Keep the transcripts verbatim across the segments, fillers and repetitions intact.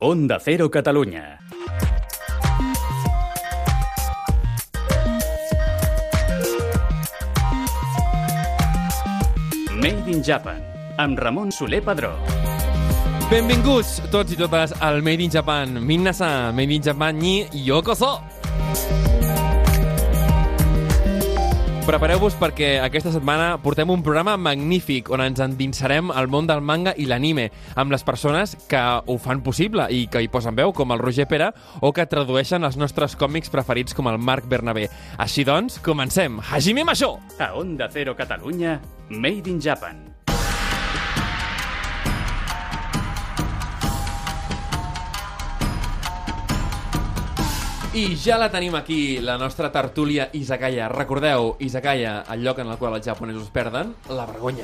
Onda Cero Catalunya. Made in Japan, amb Ramon Soler Padró. Benvinguts tots i totes al Made in Japan. Minasan, Made in Japan ni yokoso! Prepareu-vos perquè aquesta setmana portem un programa magnífic on ens endinsarem al món del manga i l'anime amb les persones que ho fan possible i que hi posen veu, com el Roger Pera, o que tradueixen els nostres còmics preferits com el Marc Bernabé. Així doncs, comencem! Hajime Masho! A Onda Cero Catalunya, Made in Japan. I ja la tenim aquí, la nostra tertúlia Izakaya. Recordeu, Izakaya, el lloc en el qual els japonesos perden la vergonya.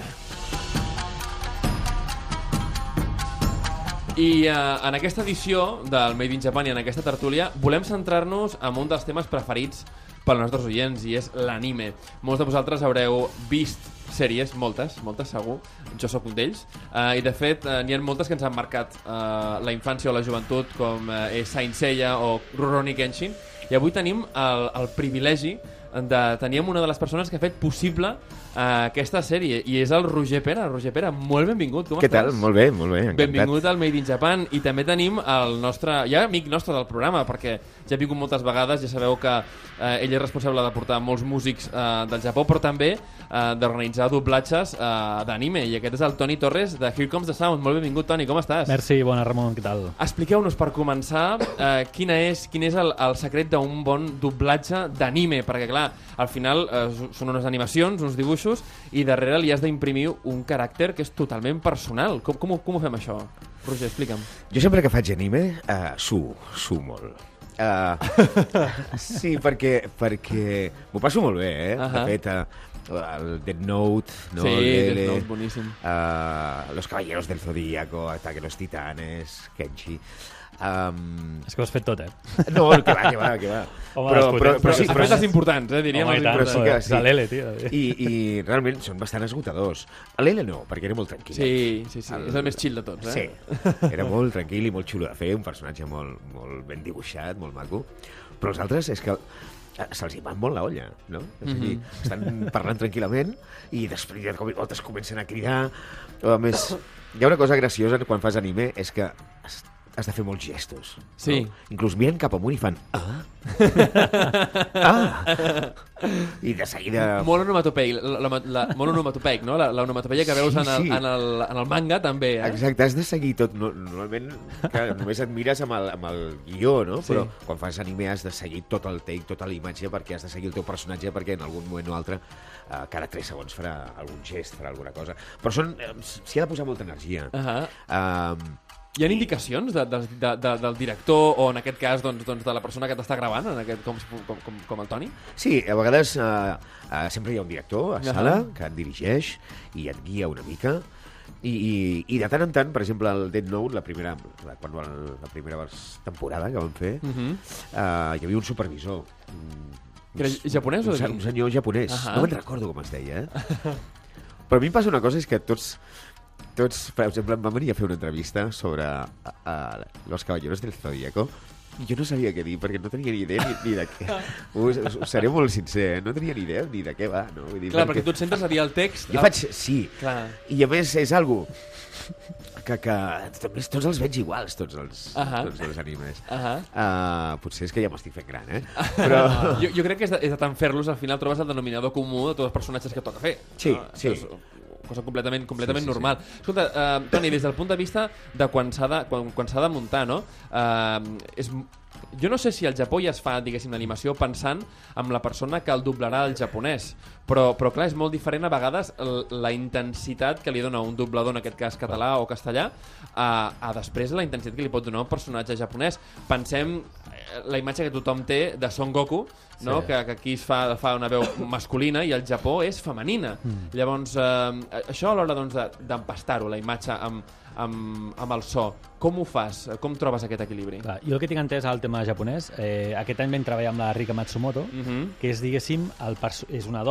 I eh, en aquesta edició del Made in Japan i en aquesta tertúlia volem centrar-nos en un dels temes preferits pels nostres oients, i és l'anime. Molts de vosaltres haureu vist sèries, moltes, moltes segur, jo sóc un d'ells, uh, i de fet uh, n'hi ha moltes que ens han marcat uh, la infància o la joventut, com uh, és Saint Seiya o Rurouni Kenshin, i avui tenim el, el privilegi de tenir una de les persones que ha fet possible uh, aquesta sèrie, i és el Roger Pera. Roger Pera, molt benvingut, com Què estàs? tal? Molt bé, molt bé, encantat. Benvingut al Made in Japan. I també tenim el nostre, ja amic nostre del programa, perquè ja ha vingut moltes vegades, ja sabeu que eh, ell és responsable de portar molts músics eh, del Japó, però també eh, d'organitzar doblatges eh, d'anime, i aquest és el Toni Torres de Here Comes the Sound. Molt benvingut, Toni, com estàs? Merci, bona Ramon, què tal? Expliqueu-nos per començar eh, quina és, quin és el, el secret d'un bon doblatge d'anime, perquè clar, al final eh, són unes animacions, uns dibuixos, i darrere li has d'imprimir un caràcter que és totalment personal. Com, com, ho, com ho fem això? Roger, explica'm. Jo sempre que faig anime, uh, suo, suo molt. Uh, sí, perquè, perquè m'ho passo molt bé, eh? Uh-huh. De fet, uh, el Death Note, no? Sí, el Death Note, boníssim. Uh, Los Caballeros del Zodíaco, Ataque a los Titanes, Kenshi... Um... És que ho has fet tot, eh? No, que va, que va, que va. Home, però, però, però, sí, Has però, fet els importants, eh, diríem. Home, els i tant, però sí importants. que sí. de l'Ele, tio. I, I realment són bastant esgotadors. A l'Ele no, perquè era molt tranquil. Sí, sí, sí. El... És el més chill de tots, eh? Sí, era molt tranquil i molt xulo de fer, un personatge molt, molt ben dibuixat, molt maco. Però els altres és que se'ls hi va molt la olla, no? És a dir, Mhm. estan parlant tranquil·lament i després de cop i volta es comencen a cridar. A més, hi ha una cosa graciosa quan fas anime, és que has, has de fer molts gestos. Sí. No? Inclús miren cap amunt i fan ah, ah, i de seguida... Molt onomatopeic, la, la, la, molt onomatopeic, no? La, la onomatopeia que veus Sí, en, el, sí. en, el, en el manga, també, eh? Exacte, has de seguir tot. No, normalment, clar, només et mires amb el, amb el guió, no? Sí. Però quan fas anime has de seguir tot el take, tota la imatge, perquè has de seguir el teu personatge, perquè en algun moment o altre, eh, cada tres segons farà algun gest, farà alguna cosa. Però són, eh, s'hi ha de posar molta energia. Uh -huh. Um, Hi ha indicacions de, de, de, de, del director, o en aquest cas doncs, doncs, de la persona que t'està gravant, en aquest, com, com, com, com el Toni? sí, a vegades eh, eh, sempre hi ha un director a sala Ahà. que et dirigeix i et guia una mica. I, i, i de tant en tant, per exemple, el Death Note, la primera, la, quan, la primera temporada que vam fer, Uh -huh. eh, hi havia un supervisor. Un, Que era japonès o un, d'aquí? un senyor japonès. Ahà. No me'n recordo com es deia, eh? Però a mi em passa una cosa, és que tots, tots, per exemple, em van venir a fer una entrevista sobre a, a Los Caballeros del Zodíaco, i jo no sabia què dir, perquè no tenia ni idea ni, ni de què. Us, us, us seré molt sincer, eh? No tenia ni idea ni de què va, no? Vull dir, Clar, perquè tu et centres a dir el text... Jo faig... Sí. Clar. I a més és algo que, que també tots els veig iguals, tots els, Ahà. tots els animes. Ahà. Uh, potser és que ja m'estic fent gran, eh? Però... jo, jo crec que és de, és de tant fer-los, al final trobes el denominador comú de tots els personatges que toca fer. Sí, no? sí. És cosa completament, completament Sí, sí, sí. normal. Escolta, uh, Toni, des del punt de vista de quan s'ha de, quan, quan s'ha de muntar, no? Uh, és, jo no sé si al Japó ja es fa, diguéssim, l'animació pensant en la persona que el doblarà al japonès, però, però clar, és molt diferent a vegades l- la intensitat que li dona un doblador, en aquest cas català o castellà, a, a després la intensitat que li pot donar un personatge japonès. Pensem eh, la imatge que tothom té de Son Goku, no? Sí. que, que aquí es fa, fa una veu masculina i al Japó és femenina. Mm. Llavors, eh, això a l'hora doncs, de- d'empastar-ho, la imatge amb, amb, amb el so, com ho fas? Com trobes aquest equilibri? Clar, jo el que tinc entès al tema japonès, eh, aquest any vam treballar amb la Rika Matsumoto, Uh -huh. que és, diguéssim, el perso- és una dona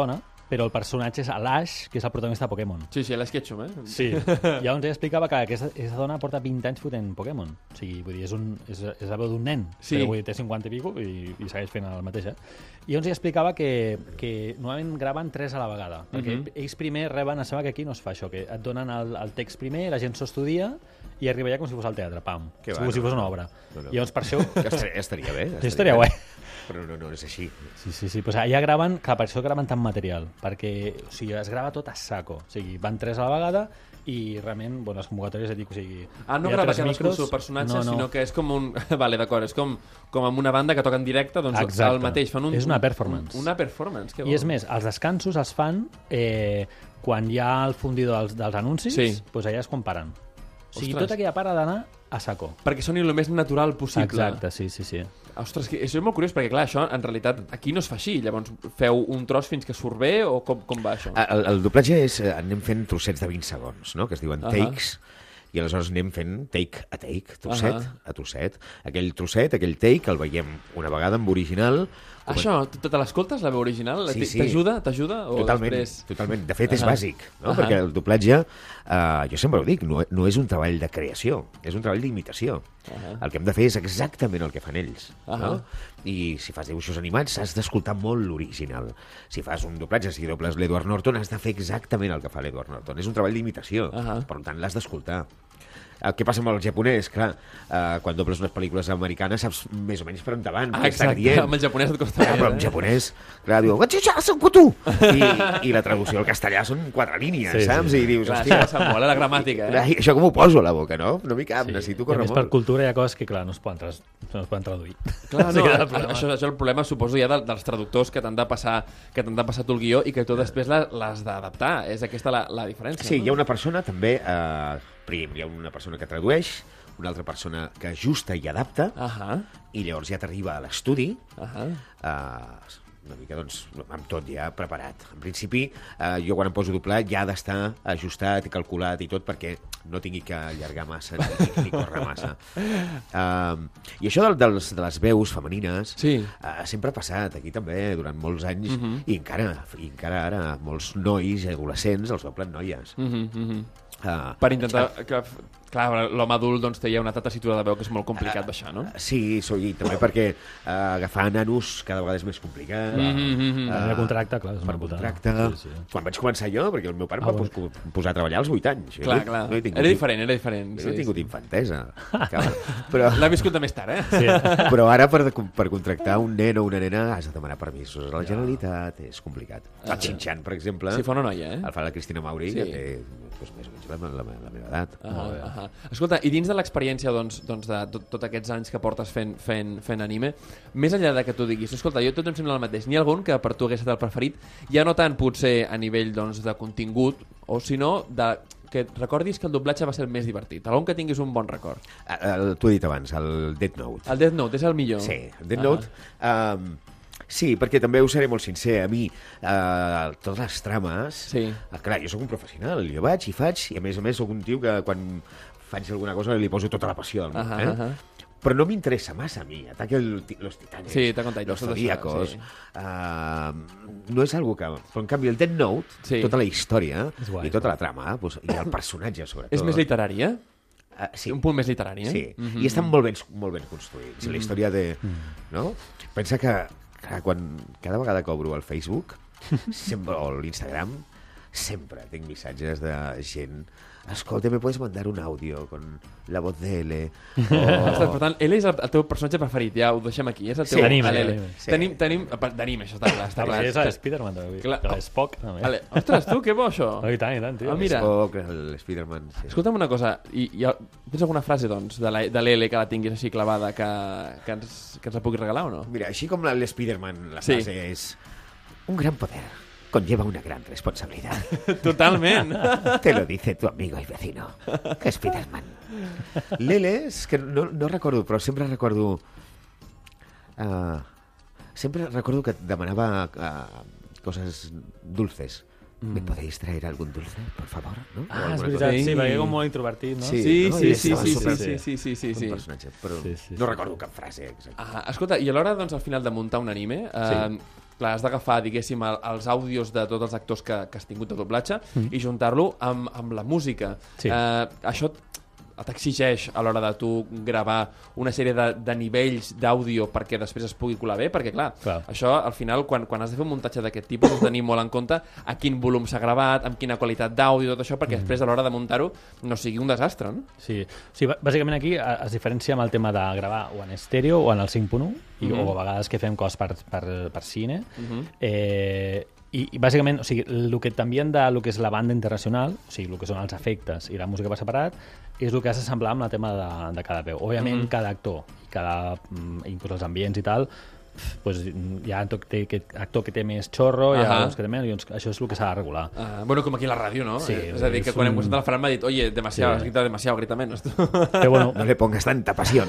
però el personatge és l'Ash, que és el protagonista de Pokémon. Sí, sí, l'Ash Ketchum, eh? Sí. Llavors ella explicava que aquesta, aquesta dona porta vint anys fotent Pokémon. O sigui, vull dir, és, un, és, és la veu d'un nen, Sí. però vull dir, té cinquanta i pico i, i segueix fent el mateix, eh? I llavors ella explicava que, que normalment graven tres a la vegada, perquè Mhm. ells primer reben, em sembla que aquí no es fa això, que et donen el, el text primer, la gent s'ho estudia i arriba ja com si fos al teatre, pam, Que com va, si no, fos una no. obra. No, no. I llavors per això... Que estaria, estaria bé. Sí, estaria guai. Però no, no, no és així. Sí, sí, sí. Pues allà graven, clar, per això graven tant material, perquè o sigui, es grava tot a saco. O sigui, van tres a la vegada i realment, bueno, les convocatòries et dic, o sigui... Ah, no hi ha grava tres cadascú el micros, seu personatge, no, no. sinó que és com un... Vale, d'acord, és com, com amb una banda que toca en directe, doncs Exacte. el mateix. Fan un, És una un- performance. Una performance, que bo. I és més, els descansos els fan eh, quan hi ha el fundidor dels, dels anuncis, Sí. doncs allà és quan paren. O sigui, Ostres. tota aquella part ha d'anar a saco. Perquè soni el més natural possible. Exacte, sí, sí, sí. Ostres, que això és molt curiós, perquè clar, això en realitat aquí no es fa així. Llavors feu un tros fins que surt bé o com, com va això? El, el doblatge és... eh, anem fent trossets de vint segons, no? Que es diuen Ahà. takes, i aleshores anem fent take a take, trosset Ahà. a trosset. Aquell trosset, aquell take, el veiem una vegada en original. Això, tu te l'escoltes, la veu original? Sí, sí. T'ajuda? T'ajuda? O Totalment, després... totalment. De fet, és Ahà. bàsic, no? Ahà. Perquè el doblatge, eh, jo sempre ho dic, no, no és un treball de creació, és un treball d'imitació. Ahà. El que hem de fer és exactament el que fan ells. Ahà. No? I si fas dibuixos animats, has d'escoltar molt l'original. Si fas un doblatge, si dobles l'Edward Norton, has de fer exactament el que fa l'Edward Norton. És un treball d'imitació, Ahà. per tant, l'has d'escoltar. El que passa amb el japonès, clar, eh, quan dobles unes pel·lícules americanes saps més o menys per on te van, Ah, què estan exacte, dient. amb el japonès et costa Clar, gaire, però en eh? japonès, clar, diu "Gachicha-san kutu", I, i la traducció al castellà són quatre línies, Sí, sí, saps? sí. I dius, Clar, hòstia, això passa molt, eh, la gramàtica, eh? clar, i això com ho poso a la boca, no? No m'hi cap, necessito I a córrer més, per molt. cultura hi ha coses que, clar, no es poden, tras... no es poden traduir. Clar, Sí no, que és el a- problema. això, això és el problema, suposo, ja de, dels traductors que t'han de passar que t'han de passar tu el guió i que tu després la- l'has d'adaptar. És aquesta la, la diferència. Sí, no? hi ha una persona també, eh, prim, hi ha una persona que tradueix, una altra persona que ajusta i adapta, Ahà, i llavors ja t'arriba a l'estudi, ahà. eh, una mica, doncs, amb tot ja preparat. En principi, eh, jo quan em poso a doblar ja ha d'estar ajustat i calculat i tot perquè no tingui que allargar massa ni, ni córrer massa. Uh, I això del, dels, de les veus femenines Sí. uh, sempre ha passat aquí també durant molts anys Mhm. i, encara, i encara ara molts nois i adolescents els doblen noies. Mhm, mhm. Uh, Per intentar que... Clar, l'home adult doncs, té ja una altra tessitura de veu que és molt complicat baixar, no? Sí, so, i també perquè uh, agafar nanos cada vegada és més complicat. Mhm, mhm. Ah, Per contracte, clar, és una per putada. contracte. Sí, sí. Quan vaig començar jo, perquè el meu pare Ah, em va bueno. pos posar a treballar als vuit anys. Jo Clar, no, clar. No he tingut, Era diferent, era diferent. Jo no he sí, tingut sí. infantesa. Cabrón. Però, L'ha viscut de més tard, eh? Sí. però ara per, per contractar un nen o una nena has de demanar permisos a la Generalitat. És complicat. El Xinxan, per exemple, Sí, fa una noia, eh? el fa la Cristina Mauri, Sí. que té doncs, més o menys la, la, la meva edat. Ah, ah, escolta, i dins de l'experiència doncs, doncs de tot, tot aquests anys que portes fent, fent, fent anime, més enllà de que tu diguis, escolta, jo tot em sembla el mateix, n'hi ha algun que per tu hagués estat el preferit, ja no tant potser a nivell doncs, de contingut, o sinó de que recordis que el doblatge va ser el més divertit, algun que tinguis un bon record. Ah, el- T'ho he dit abans, el Death Note. El Death Note és el millor. Sí, el Death Ah. Note... Um, sí, perquè també us seré molt sincer. A mi, uh, totes les trames... Sí. Uh, clar, jo sóc un professional. Jo vaig i faig, i a més a més sóc un tio que quan faig alguna cosa li poso tota la passió del món. Ahà, eh? ahà. Però no m'interessa massa a mi. Ataque el, ti- los titanes, Sí, Attack on Titan, los tot això, zodíacos... sí. Uh, no és algo que... Però en canvi el Death Note, Sí. tota la història És guai, i tota la trama, pues, i el personatge sobretot... És més literari, eh? Uh, sí. Un punt més literari, eh? Sí, Mhm. i estan molt ben, molt ben construïts. Mm. La història de... No? Pensa que, que quan cada vegada que obro el Facebook sempre, o l'Instagram, sempre tinc missatges de gent escolta, me puedes mandar un audio con la voz de L Ostres, o... per tant, L és el, el teu personatge preferit, ja ho deixem aquí. És el teu Sí, d'anime, l'L. d'anime. Sí. Tenim, tenim, per- d'anime, això està clar. Està clar. És l'Spiderman, també. Clar. Que l'Spock, també. Vale. Ostres, tu, que bo això. Oh, i tant, i tant, tio. Ah, mira. Spock, l'Spiderman... Sí. Escolta'm una cosa, i, i, tens alguna frase, doncs, de la- de l'L que la tinguis així clavada que, que, ens, que ens la puguis regalar o no? Mira, així com l'Spiderman, la Sí. frase és un gran poder conlleva una gran responsabilidad. Totalment. Te lo dice tu amigo y vecino, Spiderman. L'L és que no, no recordo, però sempre recordo... Uh, sempre recordo que demanava uh, coses dulces ¿Me podéis traer algún dulce, por favor? ¿No? O Ah, és alguna veritat, cosa. sí, perquè com molt introvertit, no? Sí. Sí, no? sí, I sí, estava sí, super- sí, sí, sí, sí, Un sí. personatge, però Sí, sí, no sí. recordo cap frase exacta. Ah, escolta, i a l'hora, doncs, al final de muntar un anime, eh, clar, has d'agafar, diguéssim, el, els àudios de tots els actors que, que has tingut de doblatge mm. i juntar-lo amb, amb la música. Sí. Eh, això t'exigeix a l'hora de tu gravar una sèrie de, de nivells d'àudio perquè després es pugui colar bé, perquè clar, Clar. això al final quan, quan has de fer un muntatge d'aquest tipus has de tenir molt en compte a quin volum s'ha gravat, amb quina qualitat d'àudio, tot això, perquè mm. després a l'hora de muntar-ho no sigui un desastre, no? Sí, sí, bà- bàsicament aquí eh, es diferencia amb el tema de gravar o en estèreo o en el cinc punt u, i, Mhm. o a vegades que fem coses per, per, per cine. Mhm. eh, i, I bàsicament, o sigui, el que t'envien de lo que és la banda internacional, o sigui, el que són els efectes i la música per separat, és el que has d'assemblar amb el tema de, de cada veu. Òbviament, Mhm. cada actor, i cada, mm, inclús els ambients i tal, pues, hi ha actor que té, que, actor que té més xorro, hi ha Ahà. uns que té menys, i uns, això és el que s'ha de regular. Uh, bueno, com aquí a la ràdio, no? Sí, Eh, és a dir, que és quan hem un- presentat la Fran m'ha dit oye, demasiado, Sí. has gritado demasiado, grita menos. Però bueno, No le pongas tanta pasión.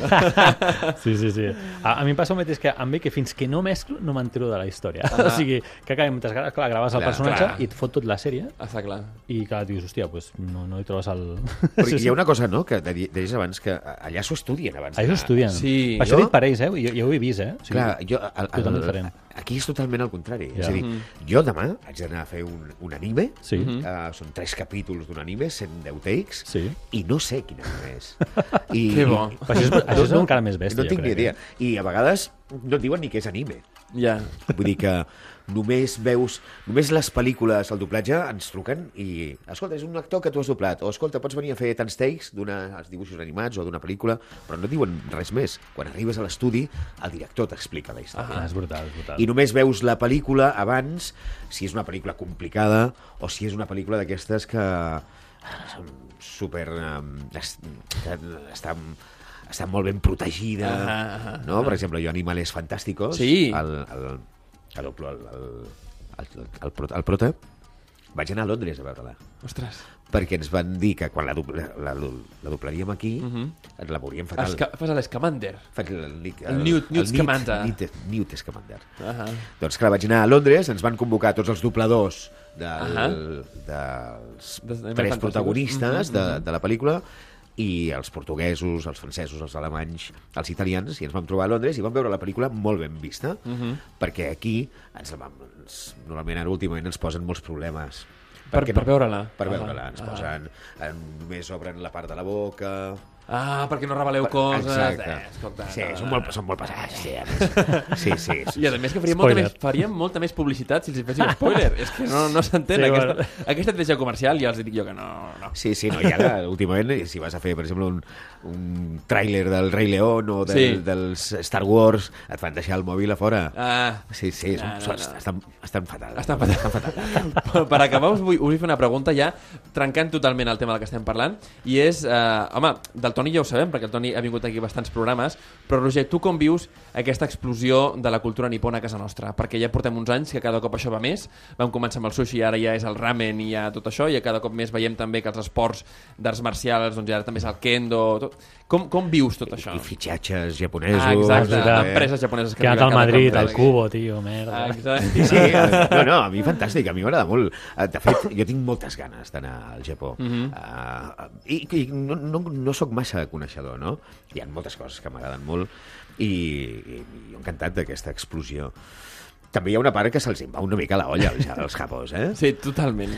sí, sí, sí. A, a mi em passa el mateix que amb mi, que fins que no mesclo no m'entero de la història. O sigui, que acabem moltes ganes, clar, graves el Clar, personatge clar. i et fot tot la sèrie Està clar. i clar, dius, hòstia, pues, no, no hi trobes el... Perquè hi ha una cosa, no?, que de- deies abans, que allà s'ho estudien abans. Ells ho estudien. Sí. Per això Jo- he dit per ells, eh? Jo, jo ho he vist, eh? O sigui, Clar, jo, el, totalment el, diferent. aquí és totalment al contrari. Ja. És a dir, jo demà haig d'anar a fer un, un anime, Sí. Mhm. uh, són tres capítols d'un anime, cent deu takes, Sí. i no sé quin anime és. I, Que bo. Però això és, això és encara més bèstia, No tinc jo ni crec. idea. I a vegades no et diuen ni què és anime. Ja. Vull dir que només veus... Només les pel·lícules, el doblatge, ens truquen i... Escolta, és un actor que tu has doblat. O, escolta, pots venir a fer tants takes d'uns dibuixos animats o d'una pel·lícula, però no et diuen res més. Quan arribes a l'estudi, el director t'explica la història. Ah, és brutal, és brutal. I només veus la pel·lícula abans, si és una pel·lícula complicada o si és una pel·lícula d'aquestes que són super... Um, es, que estan, estan molt ben protegida, Ahà, ahà, no? Per exemple, jo Animales Fantásticos, Sí. el, el, el, el, el, el, el, prota- el prota, vaig anar a Londres a veure-la, Ostres. perquè ens van dir que quan la, dobla, la, la doblaríem aquí, Mhm. ens la veuríem fatal. Esca fas l'escamander. Faig el, el, El Newt- Newt Scamander. Newt, Newt Scamander. Ahà. Doncs clar, vaig anar a Londres, ens van convocar tots els dobladors del, Ahà. dels Des- tres fantàsticos. protagonistes Mhm, de, mhm. de la pel·lícula, i els portuguesos, els francesos, els alemanys, els italians, i ens vam trobar a Londres i vam veure la pel·lícula molt ben vista, Mhm. perquè aquí ens, la vam, ens, normalment ara últimament ens posen molts problemes. Per- Perquè per veure-la. Per Ahà, veure-la. Ens ahà. posen... En, només obren la part de la boca... Ah, perquè no reveleu coses. Exacte. Eh, escolta, Sí, no, són no, molt, no. són molt pesats. Sí, a més. sí, sí, sí. I a més que faríem molta, Spoiler. més, faríem molta més publicitat si els hi féssim spoiler. És que no, no s'entén. Sí, Sí, bueno. aquesta, aquesta estratègia comercial ja els dic jo que no... no. Sí, sí, no, i ara, últimament, si vas a fer, per exemple, un, un tràiler del Rei León o del, Sí. dels Star Wars, et fan deixar el mòbil a fora. Ah, Sí, sí, són, No, no, són, no. Estan, estan fatal. Estan fatal. Estan fatal. per acabar us vull, us vull fer una pregunta ja trencant totalment el tema del que estem parlant, i és, eh, home, del Toni ja ho sabem perquè el Toni ha vingut aquí a bastants programes, però Roger, tu com vius aquesta explosió de la cultura nipona a casa nostra? Perquè ja portem uns anys que cada cop això va més, vam començar amb el sushi, ara ja és el ramen i ja tot això, i cada cop més veiem també que els esports d'arts marcials, doncs ja també és el kendo, tot. Com, com vius tot això? I fitxatges japonesos. Ah, exacte, eh? empreses japoneses que Que ha anat arriben al cada Madrid, cop al més. Cubo, tio, merda. Ah, exacte. Sí, sí, eh, no, no, a mi fantàstic, a mi m'agrada molt. Eh, De fet, jo tinc moltes ganes d'anar al Japó. Mhm. uh, I, i no, no, no sóc massa coneixedor, no? Hi ha moltes coses que m'agraden molt i, i, i jo encantat d'aquesta explosió. També hi ha una part que se'ls en va una mica a la olla, els, els japos, eh? Sí, totalment.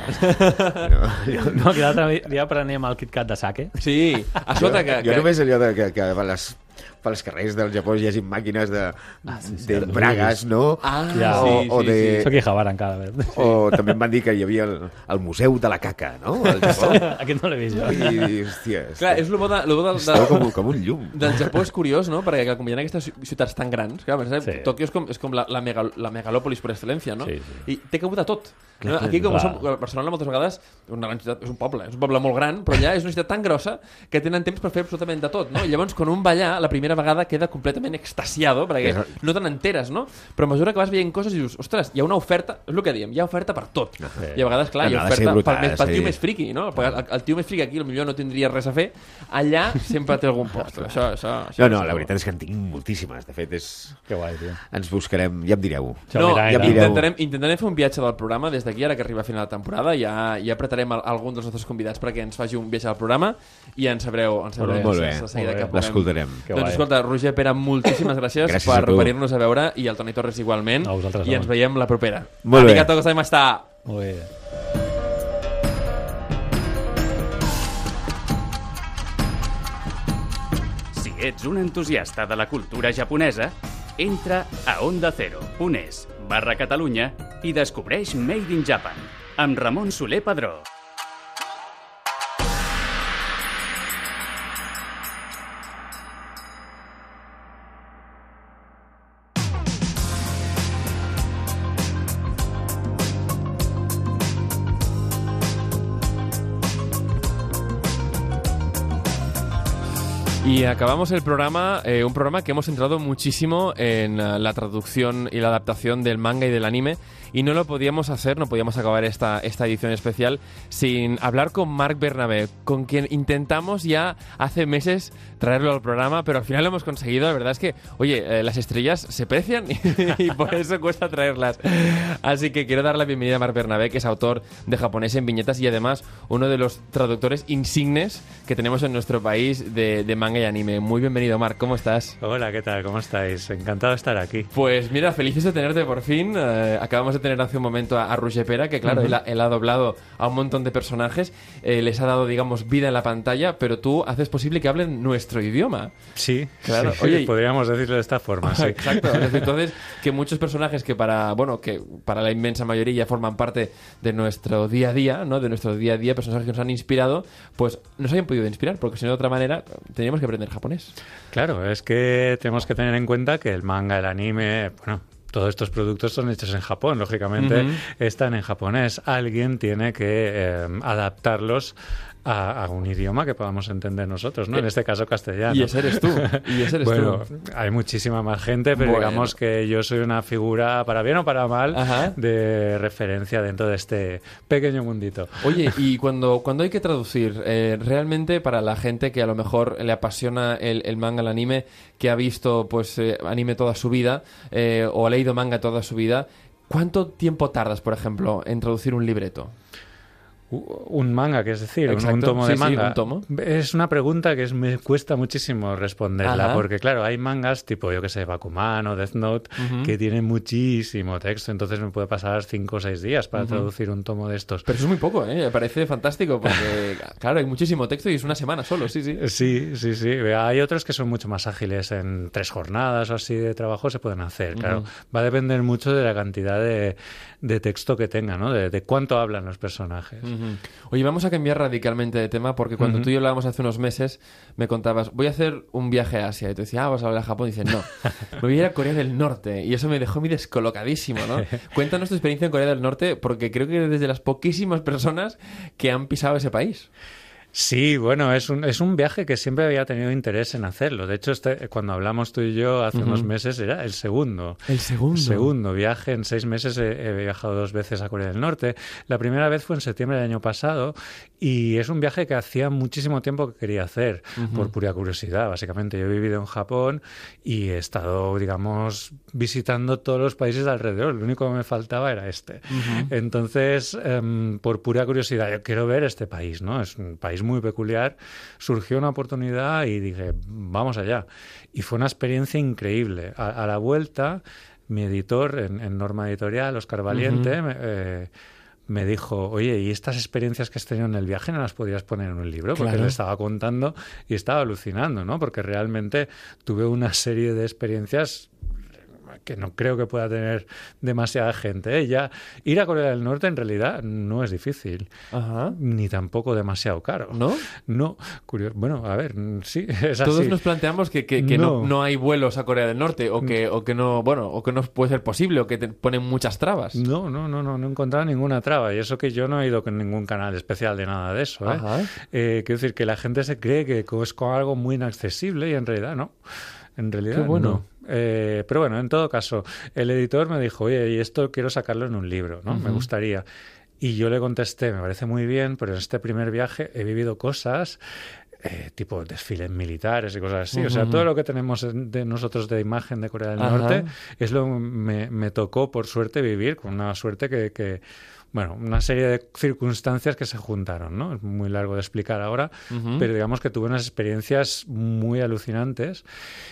No, jo, No, que l'altre dia prenem el KitKat de sake. Sí, escolta, que... jo que... només allò de que, que a les, pels carrers del Japó hi hagi màquines de, ah, sí, sí, de bragues, no? Ah, Ja. o, sí, o sí, de... sí. Soc Ihabara encara. a veure. O també em van dir que hi havia el, el Museu de la Caca, no? Al Japó. Aquest no l'he vist jo. I, hòstia, Clar, és el bo, de, lo bo del, estava del, com, com un llum. del Japó és curiós, no? Perquè com hi ha aquestes ciutats tan grans, clar, sí. Sí. Tòquio és com, és com la, la, megal, la megalòpolis per excel·lència, no? Sí, sí. I té cabuda tot. Clar, No? Aquí, com clar. som, Barcelona moltes vegades una gran ciutat, és un poble, és un poble molt gran, però allà és una ciutat tan grossa que tenen temps per fer absolutament de tot, no? I llavors, quan un va allà, la la primera vegada queda completament extasiado, perquè Eso... no te n'enteres, no? Però a mesura que vas veient coses dius, ostres, hi ha una oferta, és el que diem, hi ha oferta per tot. Sí. I a vegades, clar, hi ha Ha de ser oferta brutal, pel, més, pel sí. tio més friqui, no? El, el tio més friqui aquí potser no tindria res a fer, allà sempre té algun post. Això, això, això, No, no, la veritat és que en tinc moltíssimes. De fet, és... Que guai, tio. ens buscarem, ja em direu. Això No, mira, ja mira. em direu. intentarem, intentarem fer un viatge del programa des d'aquí, ara que arriba a final de temporada, ja, ja apretarem a, a algun dels nostres convidats perquè ens faci un viatge al programa i ens sabreu, ens sabreu Molt bé, de seguida molt bé. que puguem. L'escoltarem. Que Doncs guai. escolta, Roger Pera, moltíssimes gràcies, Gràcies per a tu. venir-nos a veure i el Toni Torres igualment. A vosaltres, I ens home. veiem la propera. Molt bé. Arigato gozaimashita. Molt bé. Si ets un entusiasta de la cultura japonesa, entra a onda cero punt es barra Catalunya i descobreix Made in Japan amb Ramon Soler Padró. Y acabamos el programa, eh, un programa que hemos centrado muchísimo en uh, la traducción y la adaptación del manga y del anime, y no lo podíamos hacer, no podíamos acabar esta, esta edición especial sin hablar con Marc Bernabé, con quien intentamos ya hace meses traerlo al programa, pero al final lo hemos conseguido. La verdad es que, oye, eh, las estrellas se precian y por eso cuesta traerlas. Así que quiero dar la bienvenida a Marc Bernabé, que es autor de Japonés en Viñetas y además uno de los traductores insignes que tenemos en nuestro país de, de manga y anime. Muy bienvenido, Marc, ¿cómo estás? Hola, ¿qué tal? ¿Cómo estáis? Encantado de estar aquí. Pues mira, felices de tenerte por fin. Eh, acabamos de tener hace un momento a, a Roger Pera, que claro, uh-huh. él, ha, él ha doblado a un montón de personajes, eh, les ha dado, digamos, vida en la pantalla, pero tú haces posible que hablen nuestro idioma. Sí, claro. Sí, Oye, podríamos decirlo de esta forma, sí. Exacto. Entonces, que muchos personajes que para, bueno, que para la inmensa mayoría ya forman parte de nuestro día a día, ¿no? De nuestro día a día, personajes que nos han inspirado, pues nos hayan podido inspirar, porque si no de otra manera teníamos que aprender japonés. Claro, es que tenemos que tener en cuenta que el manga, el anime, bueno, todos estos productos son hechos en Japón, lógicamente uh-huh. están en japonés. Alguien tiene que eh, adaptarlos a, a un idioma que podamos entender nosotros, ¿no? En este caso castellano. Y ese eres tú. Y ese eres bueno, tú. hay muchísima más gente, pero bueno. digamos que yo soy una figura, para bien o para mal, Ajá. de referencia dentro de este pequeño mundito. Oye, y cuando, cuando hay que traducir, eh, realmente para la gente que a lo mejor le apasiona el, el manga, el anime, que ha visto pues eh, anime toda su vida, eh, o ha leído manga toda su vida, ¿cuánto tiempo tardas, por ejemplo, en traducir un libreto? Un manga, que es decir, Exacto. un tomo sí, de manga. Sí, un tomo. Es una pregunta que es, me cuesta muchísimo responderla, Ajá. porque claro, hay mangas tipo, yo que sé, Bakuman o Death Note, uh-huh. que tienen muchísimo texto, entonces me puede pasar cinco o seis días para uh-huh. traducir un tomo de estos. Pero eso es muy poco, ¿eh? Me parece fantástico, porque claro, hay muchísimo texto y es una semana solo, sí, sí. Sí, sí, sí. Hay otros que son mucho más ágiles, en tres jornadas o así de trabajo se pueden hacer, uh-huh. claro. Va a depender mucho de la cantidad de, de texto que tenga, ¿no? De, de cuánto hablan los personajes. Uh-huh. Oye, vamos a cambiar radicalmente de tema, porque cuando uh-huh. tú y yo hablábamos hace unos meses, me contabas, voy a hacer un viaje a Asia. Y te decía, ah, vas a hablar a Japón. Y dices, no, me voy a ir a Corea del Norte. Y eso me dejó muy descolocadísimo, ¿no? Cuéntanos tu experiencia en Corea del Norte, porque creo que eres desde las poquísimas personas que han pisado ese país. Sí, bueno, es un, es un viaje que siempre había tenido interés en hacerlo. De hecho, este, cuando hablamos tú y yo hace uh-huh. unos meses, era el segundo. El segundo. El segundo viaje. En seis meses he, he viajado dos veces a Corea del Norte. La primera vez fue en septiembre del año pasado y es un viaje que hacía muchísimo tiempo que quería hacer, uh-huh. por pura curiosidad. Básicamente, yo he vivido en Japón y he estado, digamos, visitando todos los países de alrededor. Lo único que me faltaba era este. Uh-huh. Entonces, um, por pura curiosidad, yo quiero ver este país, ¿no? Es un país muy peculiar, surgió una oportunidad y dije, vamos allá. Y fue una experiencia increíble. A, a la vuelta, mi editor en, en Norma Editorial, Óscar Valiente, uh-huh. me, eh, me dijo, oye, ¿y estas experiencias que has tenido en el viaje no las podías poner en un libro? Porque claro. le estaba contando y estaba alucinando, ¿no? Porque realmente tuve una serie de experiencias que no creo que pueda tener demasiada gente. ¿eh? Ya ir a Corea del Norte en realidad no es difícil, Ajá. ni tampoco demasiado caro. ¿No? No, curioso. Bueno, a ver, sí, es Todos así. nos planteamos que, que, que no. No. No hay vuelos a Corea del Norte o que, o que no, bueno, o que no puede ser posible o que te ponen muchas trabas. No, no, no, no, no he encontrado ninguna traba. Y eso que yo no he ido con ningún canal especial de nada de eso. ¿eh? Ajá. Eh, quiero decir que la gente se cree que es con algo muy inaccesible y en realidad no. En realidad Qué bueno. no. Eh, pero bueno, en todo caso, el editor me dijo, oye, y esto quiero sacarlo en un libro, ¿no? Uh-huh. Me gustaría. Y yo le contesté, me parece muy bien, pero en este primer viaje he vivido cosas... Eh, tipo desfiles militares y cosas así. Uh-huh. O sea, todo lo que tenemos de nosotros de imagen de Corea del Ajá. Norte es lo que me, me tocó, por suerte, vivir, con una suerte que, que... Bueno, una serie de circunstancias que se juntaron, ¿no? Es muy largo de explicar ahora, uh-huh. pero digamos que tuve unas experiencias muy alucinantes.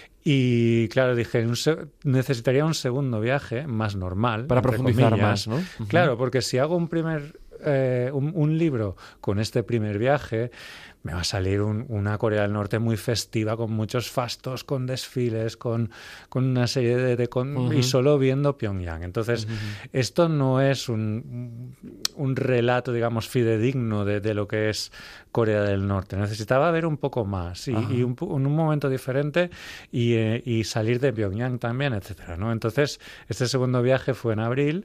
Y claro, dije, un se- necesitaría un segundo viaje más normal. Para profundizar comillas. más, ¿no? Uh-huh. Claro, porque si hago un primer eh, un, un libro con este primer viaje, me va a salir un, una Corea del Norte muy festiva, con muchos fastos, con desfiles, con, con una serie de... de con, uh-huh. y solo viendo Pyongyang. Entonces, uh-huh. esto no es un, un relato, digamos, fidedigno de, de lo que es Corea del Norte. Necesitaba ver un poco más y, uh-huh. y un, en un momento diferente y, eh, y salir de Pyongyang también, etcétera, ¿no? Entonces, este segundo viaje fue en abril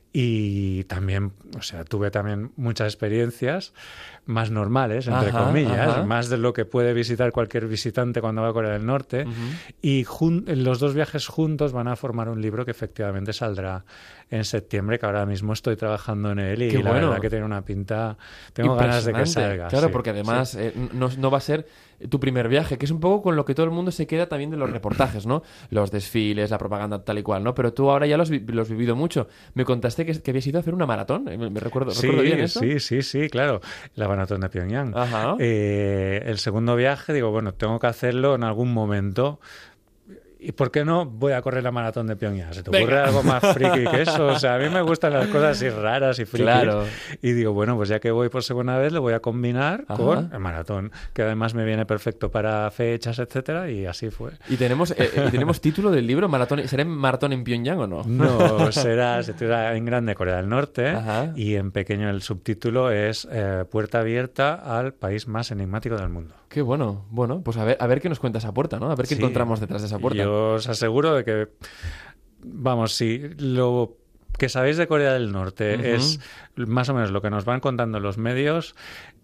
y también, o sea, tuve también muchas experiencias más normales, entre ajá, comillas, ajá. más de lo que puede visitar cualquier visitante cuando va a Corea del Norte. Uh-huh. Y jun- los dos viajes juntos van a formar un libro que efectivamente saldrá en septiembre, que ahora mismo estoy trabajando en él y Qué la bueno. verdad que tiene una pinta... Tengo ganas de que salga. Claro, sí, porque además sí. eh, no, no va a ser tu primer viaje, que es un poco con lo que todo el mundo se queda también de los reportajes, ¿no? Los desfiles, la propaganda tal y cual, ¿no? Pero tú ahora ya los has vi- vivido mucho. Me contaste que, que habías ido a hacer una maratón, me, me recuerdo, Sí, ¿recuerdo bien eso? sí, sí, sí, claro. La maratón de Pyongyang. Ajá. Eh, el segundo viaje, digo, bueno, tengo que hacerlo en algún momento. ¿Y por qué no voy a correr la maratón de Pyongyang? ¿Se te ocurre Venga. algo más friki que eso? O sea, a mí me gustan las cosas así raras y frikis. Claro. Y digo, bueno, pues ya que voy por segunda vez, lo voy a combinar Ajá. con el maratón, que además me viene perfecto para fechas, etcétera, y así fue. ¿Y tenemos, eh, eh, ¿tenemos título del libro? Maratón, ¿será maratón en Pyongyang o no? No, será, se titula en grande Corea del Norte. Ajá. Y en pequeño el subtítulo es eh, Puerta abierta al país más enigmático del mundo. Qué bueno. Bueno, pues a ver, a ver qué nos cuenta esa puerta, ¿no? A ver qué Sí. encontramos detrás de esa puerta. Yo os aseguro de que, vamos, si lo que sabéis de Corea del Norte Uh-huh. es más o menos lo que nos van contando los medios,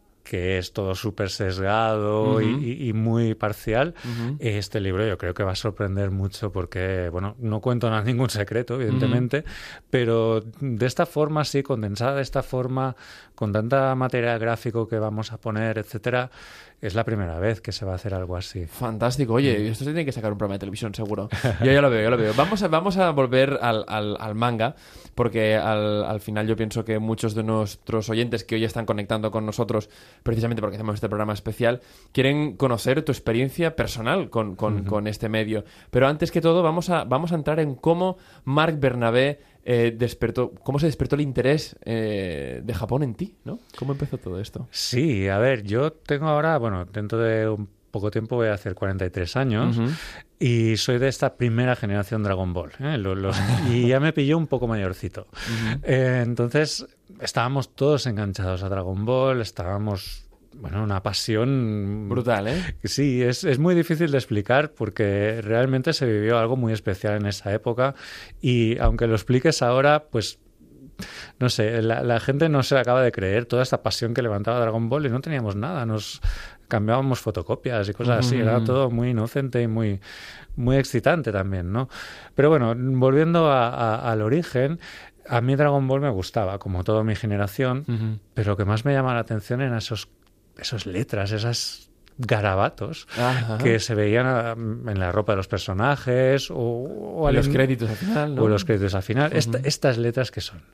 que es todo súper sesgado Uh-huh. y, y muy parcial, Uh-huh. este libro yo creo que va a sorprender mucho porque, bueno, no cuento nada, ningún secreto, evidentemente, uh-huh. pero de esta forma, sí, condensada de esta forma, con tanta material gráfico que vamos a poner, etcétera, es la primera vez que se va a hacer algo así. Fantástico. Oye, esto se tiene que sacar un programa de televisión, seguro. Yo ya lo veo, yo lo veo. Vamos a, vamos a volver al, al, al manga, porque al, al final yo pienso que muchos de nuestros oyentes que hoy están conectando con nosotros, precisamente porque hacemos este programa especial, quieren conocer tu experiencia personal con, con, uh-huh. con este medio. Pero antes que todo, vamos a, vamos a entrar en cómo Marc Bernabé eh, despertó, cómo se despertó el interés eh, de Japón en ti, ¿no? ¿Cómo empezó todo esto? Sí, a ver, yo tengo ahora, bueno, dentro de un poco tiempo voy a hacer cuarenta y tres años uh-huh. y soy de esta primera generación Dragon Ball, ¿eh? los, los, y ya me pilló un poco mayorcito. Uh-huh. Eh, entonces estábamos todos enganchados a Dragon Ball, estábamos... Bueno, una pasión... Brutal, ¿eh? Sí, es, es muy difícil de explicar porque realmente se vivió algo muy especial en esa época y aunque lo expliques ahora, pues... No sé, la, la gente no se acaba de creer toda esta pasión que levantaba Dragon Ball y no teníamos nada, nos cambiábamos fotocopias y cosas así, mm. era todo muy inocente y muy, muy excitante también, ¿no? Pero bueno, volviendo a, a, al origen... A mí Dragon Ball me gustaba, como toda mi generación, uh-huh. pero lo que más me llama la atención eran esos, esas letras, esas garabatos Ajá. que se veían en la ropa de los personajes o, o en los créditos al final, ¿no? O los créditos al final. Uh-huh. Esta, estas letras que son.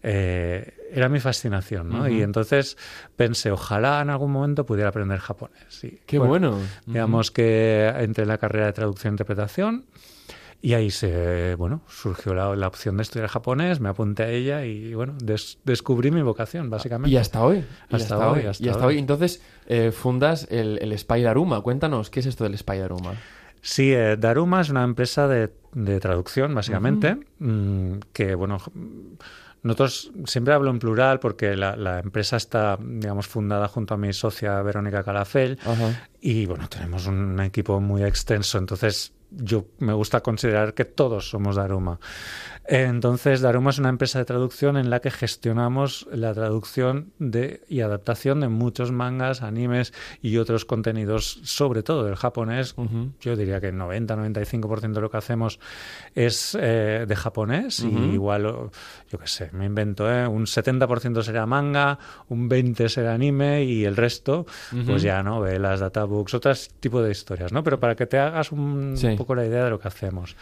Eh, era mi fascinación, ¿no? Uh-huh. Y entonces pensé, ojalá en algún momento pudiera aprender japonés. Y, ¡Qué bueno! bueno uh-huh. Digamos que entré en la carrera de traducción e interpretación. Y ahí se, bueno, surgió la, la opción de estudiar japonés, me apunté a ella y, bueno, des, descubrí mi vocación, básicamente. Y hasta hoy. Hasta, y hasta hoy, hoy. hasta y hasta hoy. hoy. Entonces, eh, fundas el, el Spy Daruma. Cuéntanos, ¿qué es esto del Spy Daruma? Sí, eh, Daruma es una empresa de, de traducción, básicamente, uh-huh. mmm, que, bueno... Nosotros siempre hablo en plural porque la, la empresa está, digamos, fundada junto a mi socia Verónica Calafell uh-huh. y, bueno, tenemos un equipo muy extenso, entonces yo me gusta considerar que todos somos Daruma. Entonces, Daruma es una empresa de traducción en la que gestionamos la traducción de, y adaptación de muchos mangas, animes y otros contenidos, sobre todo del japonés. Uh-huh. Yo diría que el noventa a noventa y cinco por ciento de lo que hacemos es eh, de japonés uh-huh. y igual, yo qué sé, me invento, ¿eh? Un setenta por ciento será manga, un veinte por ciento será anime y el resto, uh-huh. pues ya novelas, databooks, otros tipos de historias, ¿no? Pero para que te hagas un, sí. un poco la idea de lo que hacemos.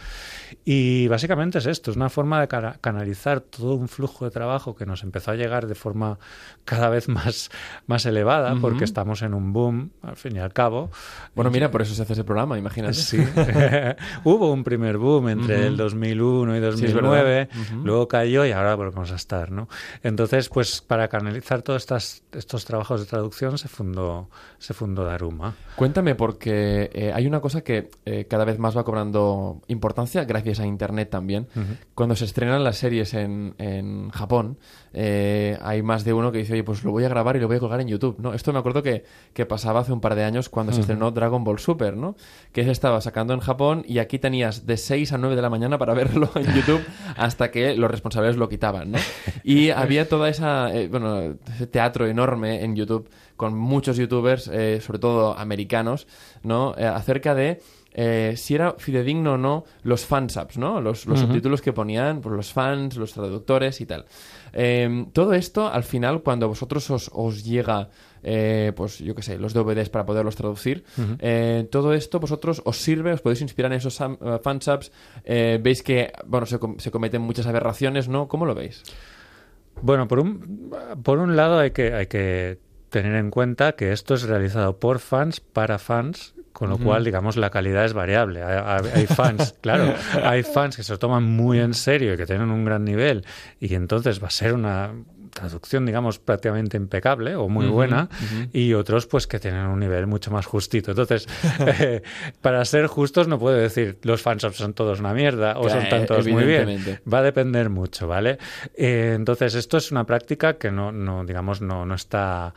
Y básicamente es esto, es una forma de ca- canalizar todo un flujo de trabajo que nos empezó a llegar de forma cada vez más, más elevada, uh-huh. porque estamos en un boom, al fin y al cabo. Bueno, mira, por eso se hace ese programa, imagínate. Sí. Hubo un primer boom entre uh-huh. el dos mil uno y dos mil nueve, sí, uh-huh. luego cayó y ahora volvemos a estar, ¿no? Entonces, pues para canalizar todos estas, estos trabajos de traducción se fundó, se fundó Daruma. Cuéntame, porque eh, hay una cosa que eh, cada vez más va cobrando importancia, gracias a Internet también. Uh-huh. Cuando se estrenan las series en, en Japón, eh, hay más de uno que dice, oye, pues lo voy a grabar y lo voy a colgar en YouTube, ¿no? Esto me acuerdo que, que pasaba hace un par de años cuando uh-huh. se estrenó Dragon Ball Super, ¿no? Que se estaba sacando en Japón y aquí tenías de seis a nueve de la mañana para verlo en YouTube hasta que los responsables lo quitaban, ¿no? Y había toda esa, eh, bueno, ese teatro enorme en YouTube con muchos youtubers, eh, sobre todo americanos, ¿no? Eh, acerca de Eh, si era fidedigno o no los fansubs, ¿no? Los, los uh-huh. subtítulos que ponían por los fans, los traductores y tal. Eh, todo esto, al final, cuando a vosotros os, os llega, eh, pues yo qué sé, los D V Ds para poderlos traducir, uh-huh. eh, todo esto vosotros os sirve, os podéis inspirar en esos uh, fansubs, eh, veis que, bueno, se, com- se cometen muchas aberraciones, ¿no? ¿Cómo lo veis? Bueno, por un, por un lado hay que, hay que tener en cuenta que esto es realizado por fans, para fans, con lo uh-huh. cual, digamos, la calidad es variable. Hay, hay fans, claro, hay fans que se lo toman muy en serio y que tienen un gran nivel y entonces va a ser una traducción, digamos, prácticamente impecable o muy uh-huh, buena uh-huh. y otros, pues, que tienen un nivel mucho más justito. Entonces, eh, para ser justos no puedo decir los fans son todos una mierda o son tantos muy bien. Va a depender mucho, ¿vale? Eh, entonces, esto es una práctica que no, no digamos, no, no está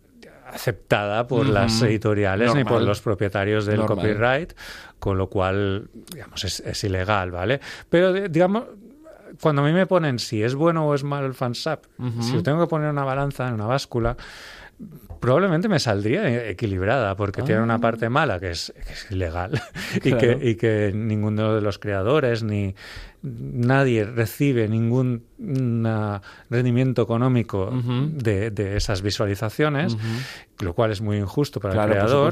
aceptada por uh-huh. las editoriales Normal. Ni por los propietarios del Normal. Copyright, con lo cual, digamos, es, es ilegal, ¿vale? Pero, digamos, cuando a mí me ponen si es bueno o es malo el fansub, uh-huh. si yo tengo que poner una balanza en una báscula, probablemente me saldría equilibrada, porque ah. tiene una parte mala que es, que es ilegal y, claro. que, y que ninguno de los creadores ni nadie recibe ningún uh, rendimiento económico uh-huh. de, de esas visualizaciones, uh-huh. lo cual es muy injusto para claro, el creador.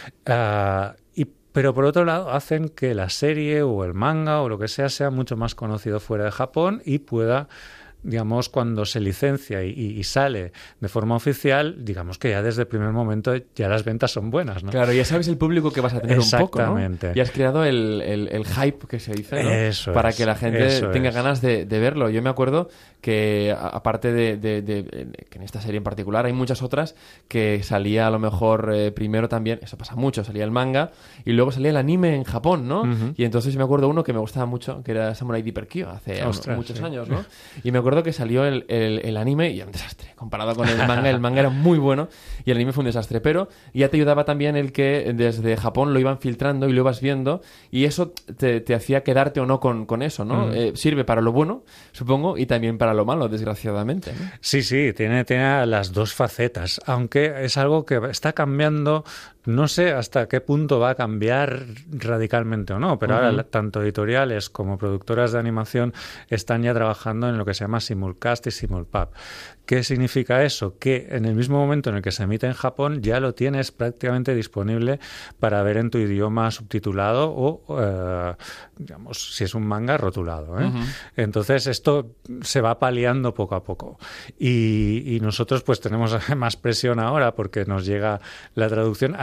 Uh, y Pero por otro lado hacen que la serie o el manga o lo que sea sea mucho más conocido fuera de Japón y pueda, digamos, cuando se licencia y, y sale de forma oficial, digamos que ya desde el primer momento ya las ventas son buenas, ¿no? Claro, ya sabes el público que vas a tener un poco, ¿no? Exactamente. Y has creado el, el, el hype que se dice, ¿no? Eso para es, que la gente tenga es. ganas de, de verlo. Yo me acuerdo que, aparte de, de, de, de que en esta serie en particular hay muchas otras que salía a lo mejor eh, primero también, eso pasa mucho, salía el manga y luego salía el anime en Japón, ¿no? Uh-huh. Y entonces me acuerdo uno que me gustaba mucho, que era Samurai Deeper Kyo, hace Ostras, muchos sí. años, ¿no? Y me acuerdo que salió el El, el anime y era un desastre comparado con el manga. El manga era muy bueno y el anime fue un desastre, pero ya te ayudaba también el que desde Japón lo iban filtrando y lo ibas viendo y eso te, te hacía quedarte o no con, con eso, ¿no? Mm. Eh, sirve para lo bueno, supongo, y también para lo malo, desgraciadamente, ¿no? Sí, sí, tiene, tiene las dos facetas, aunque es algo que está cambiando. No sé hasta qué punto va a cambiar radicalmente o no, pero uh-huh. ahora tanto editoriales como productoras de animación están ya trabajando en lo que se llama simulcast y simulpub. ¿Qué significa eso? Que en el mismo momento en el que se emite en Japón ya lo tienes prácticamente disponible para ver en tu idioma subtitulado o, eh, digamos, si es un manga, rotulado, ¿eh? Uh-huh. Entonces esto se va paliando poco a poco. Y, y nosotros pues tenemos más presión ahora porque nos llega la traducción. Hay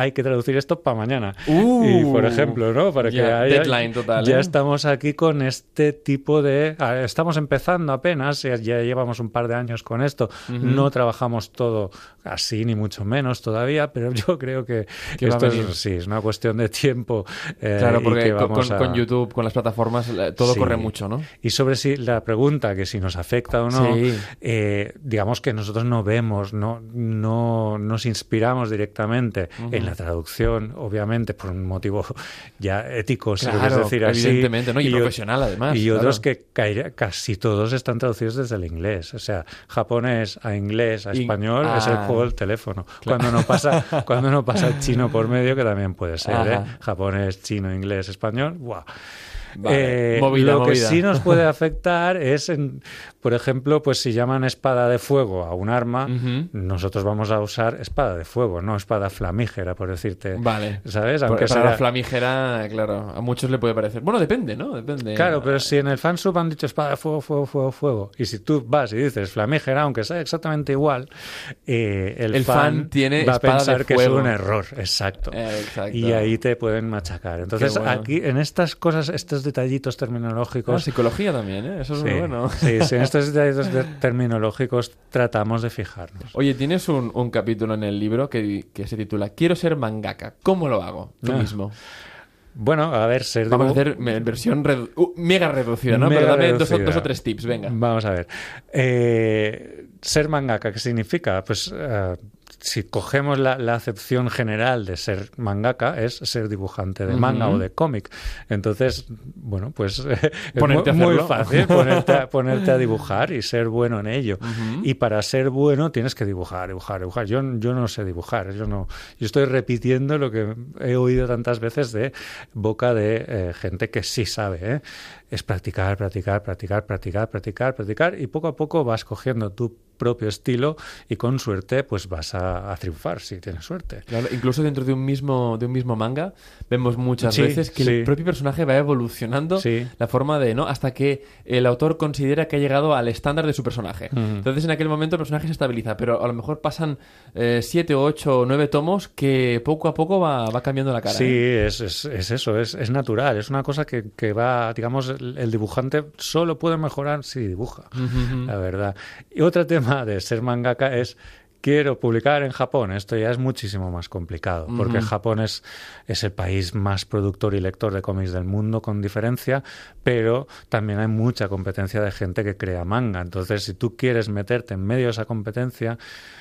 hay que traducir esto para mañana. Uh, y, por ejemplo, ¿no? Para ya, que haya, deadline total, ya ¿eh? estamos aquí con este tipo de... Estamos empezando apenas, ya, ya llevamos un par de años con esto. Uh-huh. No trabajamos todo así, ni mucho menos todavía, pero yo creo que ¿Qué esto es, sí, es una cuestión de tiempo. Eh, claro, porque y que vamos con, a... con YouTube, con las plataformas, todo sí. corre mucho, ¿no? Y sobre si la pregunta, que si nos afecta o no, sí. eh, digamos que nosotros no vemos, no, no nos inspiramos directamente uh-huh. en la traducción, obviamente, por un motivo ya ético, si claro, quieres decir así. Evidentemente, ¿no? Y, y profesional, o, además. Y claro. otros que caer, casi todos están traducidos desde el inglés. O sea, japonés a inglés a español y, ah, es el juego del teléfono. Claro. Cuando no pasa cuando no pasa el chino por medio, que también puede ser, ¿eh? Japonés, chino, inglés, español, ¡guau! Vale. Eh, movida, lo movida. que sí nos puede afectar es, en, por ejemplo, pues si llaman espada de fuego a un arma, uh-huh. nosotros vamos a usar espada de fuego, no espada flamígera, por decirte. Vale. ¿Sabes? Aunque Para sea... la flamígera, claro, a muchos le puede parecer. Bueno, depende, ¿no? Depende. Claro, pero si en el fansub han dicho espada de fuego, fuego, fuego, fuego, y si tú vas y dices flamígera, aunque sea exactamente igual, eh, el, el fan, fan tiene va a pensar de que fuego. es un error. Exacto. Eh, exacto. Y ahí te pueden machacar. Entonces, bueno. aquí, en estas cosas, estos detallitos terminológicos... Ah, psicología también, ¿eh? Eso es sí, muy bueno. Sí, sí, en estos detallitos de terminológicos tratamos de fijarnos. Oye, tienes un, un capítulo en el libro que, que se titula Quiero ser mangaka. ¿Cómo lo hago? Tú ah. mismo. Bueno, a ver, ser... Vamos a hacer versión redu- uh, mega reducida, ¿no? Mega Pero dame reducida. Dos, dos o tres tips, venga. Vamos a ver. Eh, ser mangaka, ¿qué significa? Pues... Uh, si cogemos la, la acepción general de ser mangaka, es ser dibujante de manga uh-huh. o de cómic. Entonces, bueno, pues eh, ponerte es muy, a muy fácil ponerte a, ponerte a dibujar y ser bueno en ello. Uh-huh. Y para ser bueno tienes que dibujar, dibujar, dibujar. Yo, yo no sé dibujar, yo no. Yo estoy repitiendo lo que he oído tantas veces de boca de eh, gente que sí sabe, ¿eh? Es practicar, practicar, practicar, practicar, practicar, practicar y poco a poco vas cogiendo tu propio estilo y con suerte pues vas a, a triunfar si tienes suerte. Claro, incluso dentro de un mismo de un mismo manga vemos muchas sí, veces que sí. el propio personaje va evolucionando sí. la forma de, ¿no? Hasta que el autor considera que ha llegado al estándar de su personaje. Uh-huh. Entonces en aquel momento el personaje se estabiliza, pero a lo mejor pasan eh, siete, ocho, nueve tomos que poco a poco va, va cambiando la cara. Sí, ¿eh? es, es, es eso, es, es natural, es una cosa que, que va, digamos, el, el dibujante solo puede mejorar si dibuja, uh-huh. la verdad. Y otro tema de ser mangaka es quiero publicar en Japón. Esto ya es muchísimo más complicado, porque uh-huh. Japón es, es el país más productor y lector de cómics del mundo, con diferencia, pero también hay mucha competencia de gente que crea manga. Entonces, si tú quieres meterte en medio de esa competencia,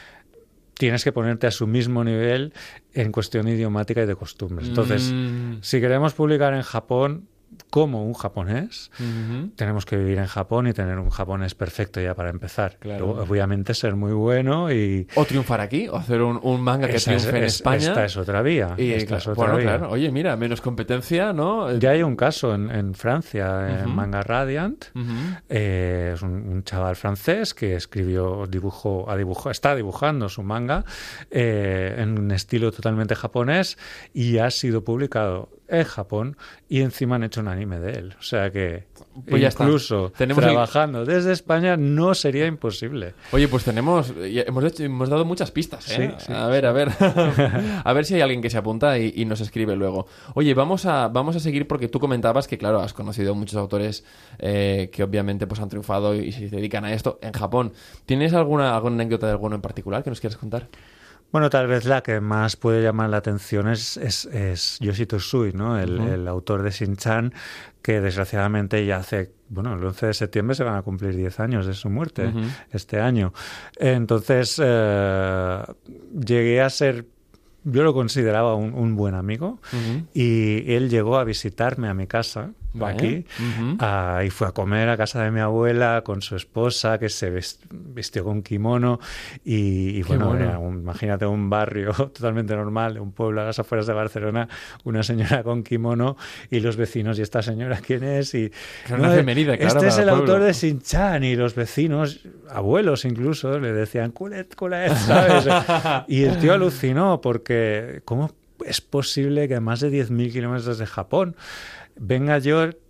tienes que ponerte a su mismo nivel en cuestión idiomática y de costumbres. Entonces, mm. si queremos publicar en Japón como un japonés, uh-huh. tenemos que vivir en Japón y tener un japonés perfecto ya para empezar. Claro. Luego, obviamente ser muy bueno y... O triunfar aquí, o hacer un, un manga que esta triunfe es, en es, España. Esta es otra vía. Y, esta claro, es otra bueno, vía. claro. Oye, mira, menos competencia, ¿no? Ya hay un caso en, en Francia, uh-huh. en Manga Radiant. Uh-huh. Eh, es un, un chaval francés que escribió, dibujó, a dibujo, está dibujando su manga eh, en un estilo totalmente japonés y ha sido publicado en Japón y encima han hecho un anime de él. O sea que pues incluso trabajando el... desde España no sería imposible. Oye, pues tenemos hemos, hecho, hemos dado muchas pistas, ¿eh? Sí, sí, a ver, a ver. A ver si hay alguien que se apunta y, y nos escribe luego. Oye, vamos a, vamos a seguir porque tú comentabas que, claro, has conocido muchos autores eh, que obviamente pues han triunfado y se dedican a esto en Japón. ¿Tienes alguna, alguna anécdota de alguno en particular que nos quieras contar? Bueno, tal vez la que más puede llamar la atención es, es, es Yoshito Sui, ¿no? El, uh-huh. el autor de Shin-Chan, que desgraciadamente ya hace, bueno, el once de septiembre se van a cumplir diez años de su muerte, uh-huh. este año. Entonces, eh, llegué a ser, yo lo consideraba un, un buen amigo, uh-huh. y él llegó a visitarme a mi casa, ¿vale? Aquí, uh-huh. uh, y fue a comer a casa de mi abuela con su esposa, que se vest- vistió con kimono, y, y bueno, bueno. Era un, imagínate un barrio totalmente normal, un pueblo a las afueras de Barcelona, una señora con kimono, y los vecinos, ¿y esta señora quién es? Y una no, efeméride, claro, este es el pueblo. autor de Shin-Chan, y los vecinos, abuelos incluso, le decían, culet, culet, ¿sabes? Y el tío alucinó, porque ¿cómo es posible que a más de diez mil kilómetros de Japón venga yo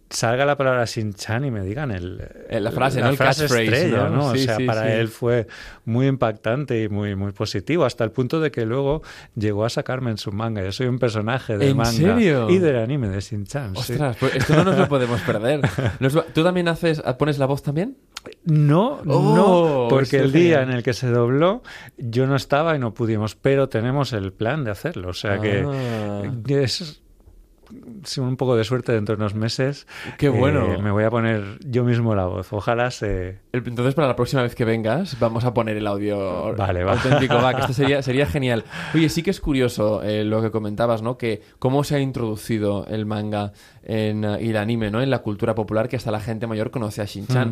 salga la palabra Shin-chan y me digan el, eh, la frase, la ¿no? El frase catchphrase, estrella, ¿no? ¿no? Sí, o sea, sí, para sí. él fue muy impactante y muy, muy positivo, hasta el punto de que luego llegó a sacarme en su manga. Yo soy un personaje de ¿En manga serio? y del anime de Shin-chan. Sí. Ostras, pues esto no nos lo podemos perder. Nos va- ¿Tú también haces, pones la voz también? No, Oh, no, porque eso el día genial. en el que se dobló yo no estaba y no pudimos, pero tenemos el plan de hacerlo. O sea Ah. que es si un poco de suerte dentro de unos meses. Qué bueno. eh, me voy a poner yo mismo la voz. Ojalá se... El- Entonces, para la próxima vez que vengas, vamos a poner el audio Vale, va. auténtico. Va, que esto sería, sería genial. Oye, sí que es curioso eh, lo que comentabas, ¿no? Que cómo se ha introducido el manga en, uh, y el anime, ¿no? En la cultura popular, que hasta la gente mayor conoce a Shin-chan. Mm.